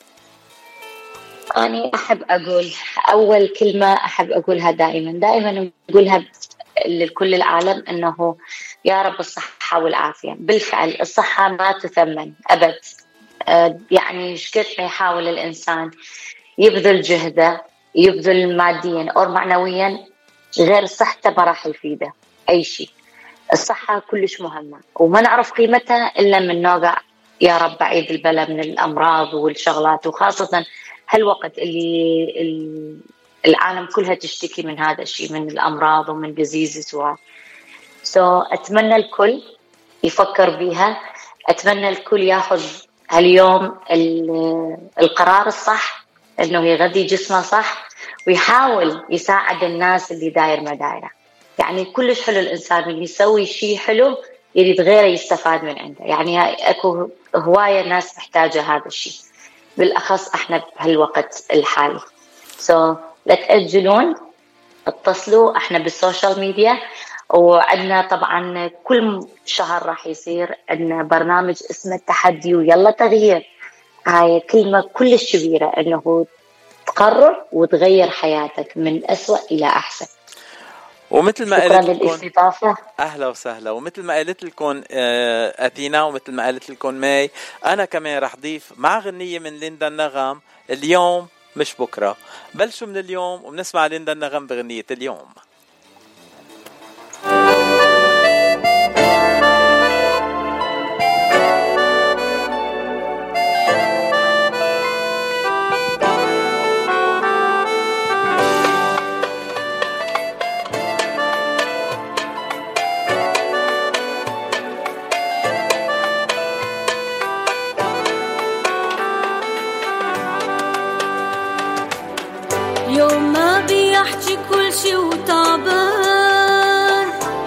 أنا أحب أقول أول كلمة أحب أقولها دائما أقولها لكل العالم، إنه يا رب الصحة والعافية. بالفعل الصحة ما تثمن أبد، يعني شكد ما يحاول الإنسان يبذل جهده يبذل ماديا أو معنويا غير صحته ما راح يفيده أي شيء. الصحة كلش مهمة وما نعرف قيمتها إلا من نوقع يا رب بعيد البلا من الأمراض والشغلات، وخاصة هالوقت اللي العالم كلها تشتكي من هذا الشيء، من الأمراض ومن diseases أتمنى الكل يفكر بيها، أتمنى الكل ياخذ هاليوم القرار الصح إنه يغذي جسمه صح ويحاول يساعد الناس اللي داير ما دايره. يعني كلش حلو الإنسان اللي يسوي شيء حلو يريد غيره يستفاد من عنده، يعني أكو هواية ناس محتاجة هذا الشيء بالأخص إحنا بهالوقت الحالي. لا تأجلون، اتصلوا إحنا بالسوشيال ميديا، وعندنا طبعا كل شهر راح يصير عندنا برنامج اسمه التحدي ويلا تغيير. هاي كلمة كلش كبيرة إنه تقرر وتغير حياتك من أسوأ إلى أحسن. ومثل ما قلت لكم أهلا وسهلا، ومثل ما قلت لكم أتينا ومثل ما قلت لكم ماي، أنا كمان رح ضيف مع غنية من ليندا النغم اليوم مش بكرة. بلشوا من اليوم وبنسمع ليندا النغم بغنية اليوم.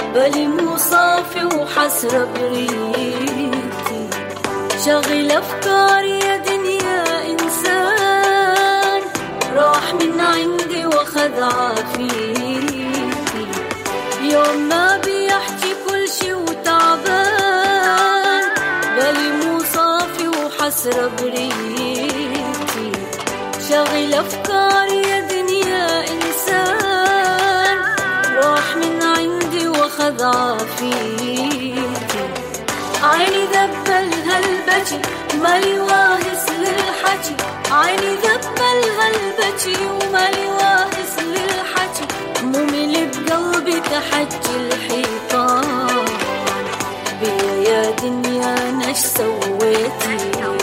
بالي مو صافي وحسرة بريتي شغل أفكاري يا دنيا إنسان راح من عندي وخذ عافيتي يوم ما بيحكي كل شي وتعبان بالي مو صافي وحسرة بريتي شغل أفكاري يا دنيا إنسان راح من عندي وخذ عافيتي عيني ذبل هالبكي مالي واهس للحكي عيني ذبل هالبكي ومالي واهس للحكي ممل بقلبي كحج الحيطان بيا يا دنيا نش سويتي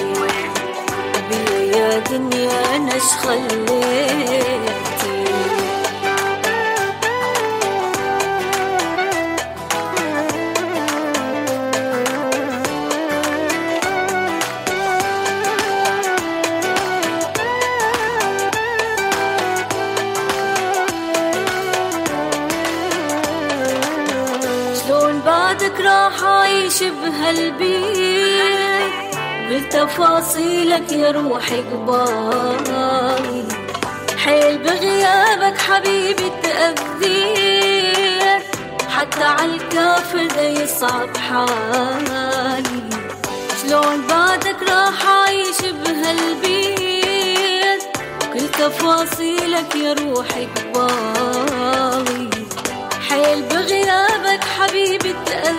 بيا يا دنيا نش خليتي بعدك راح أعيش بهالبيت بتفاصيلك يا روحي قبالي حيل بغيابك حبيبي تأذيت حتى عالكافر ده يصعب حالي شلون بعدك راح أعيش بهالبيت كل تفاصيلك يا روحي قبالي حيل بغيابك حبيبي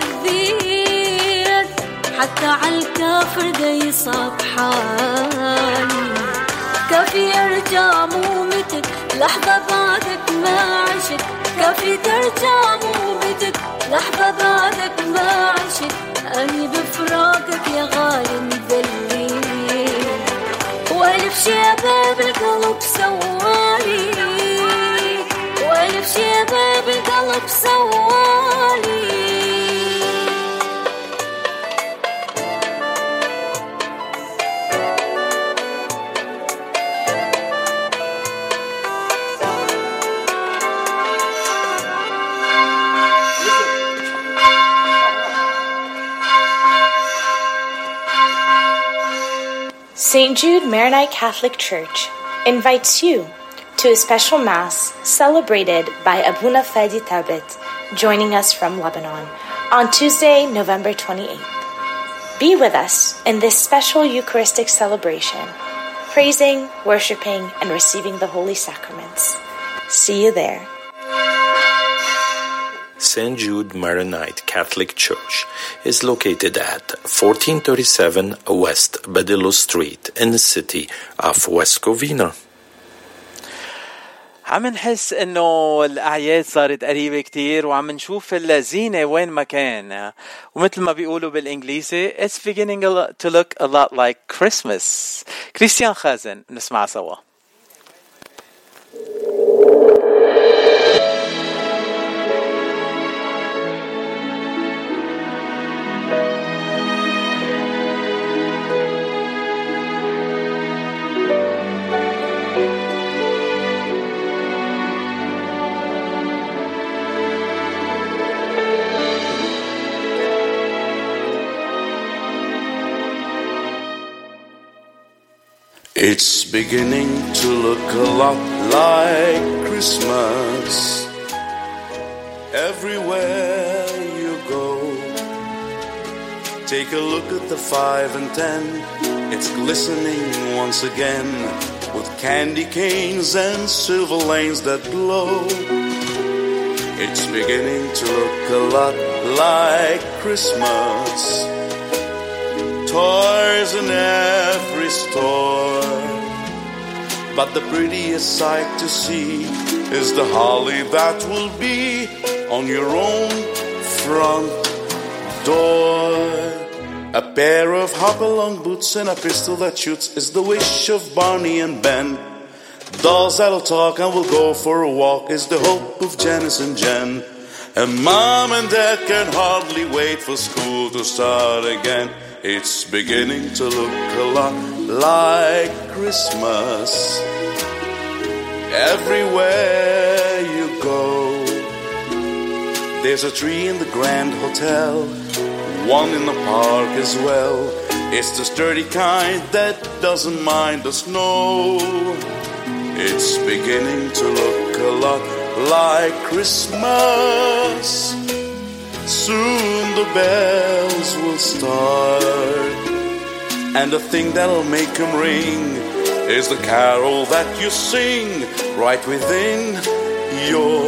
تأذيت حتى عالكافر ده يصعب حالي كافي ارجع مو متت لحظة بعدك ما عشت كافي ترجع مو متت لحظة بعدك ما عشت أني بفراقك يا غالي مذلي وألف شباب القلب سوالي وألف شباب القلب سوالي St. Jude Maronite Catholic Church invites you to a special Mass celebrated by Abuna Fadi Tabit, joining us from Lebanon, on Tuesday, November 28th. Be with us in this special Eucharistic celebration, praising, worshiping, and receiving the Holy Sacraments. See you there. St. Jude Maronite Catholic Church is located at 1437 West Badillo Street in the city of West Covina. عم نحس انه الاعياد صارت قريبة كتير وعم نشوف الزينة وين ما كان ومثل ما بيقولوا بالانجليزي it's beginning to look a lot like Christmas. كريستيان خازن نسمع سوا. It's beginning to look a lot like Christmas everywhere you go. Take a look at the 5 and 10. It's glistening once again with candy canes and silver lanes that glow. It's beginning to look a lot like Christmas. Toys in every store, but the prettiest sight to see is the holly that will be on your own front door. A pair of hop-along boots and a pistol that shoots is the wish of Barney and Ben. Dolls that'll talk and will go for a walk is the hope of Janice and Jen. And Mom and Dad can hardly wait for school to start again. It's beginning to look a lot like Christmas everywhere you go. There's a tree in the Grand Hotel, one in the park as well. It's the sturdy kind that doesn't mind the snow. It's beginning to look a lot like Christmas. Soon the bells will start, and the thing that'll make them ring is the carol that you sing right within your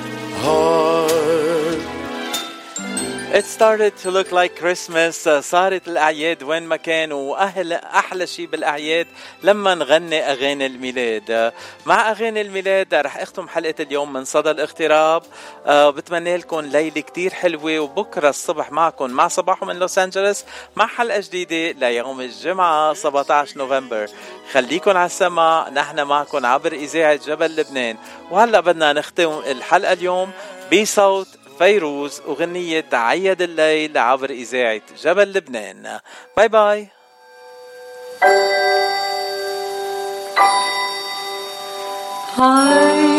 heart. It started to look like Christmas. صارت الأعياد وين ما كان، وأحلى شيء بالأعياد لما نغني أغاني الميلاد. مع أغاني الميلاد رح أختم حلقة اليوم من صدى الاغتراب. بتمنى لكم ليلة كتير حلوة، وبكرة الصبح معكم مع صباح من لوس أنجلوس مع حلقة جديدة ليوم الجمعة 17 نوفمبر. خليكن على السماع، نحن معكم عبر إذاعة جبل لبنان. وهلأ بدنا نختم الحلقة اليوم بصوت فيروز وغنية عيد الليل عبر إذاعة جبل لبنان. باي باي.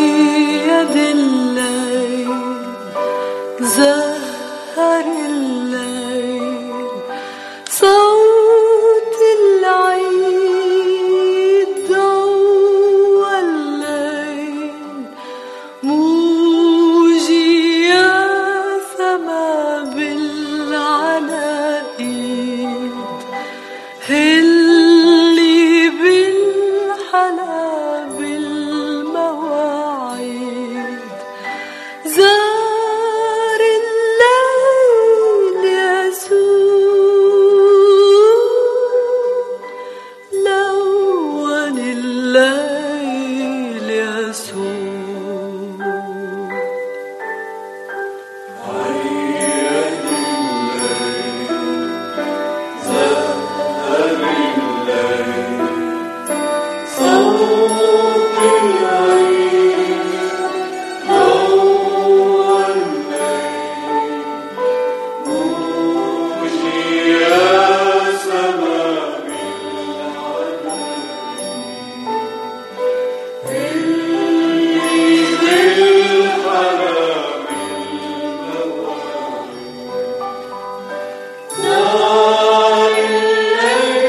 عيد الليل زهر الليل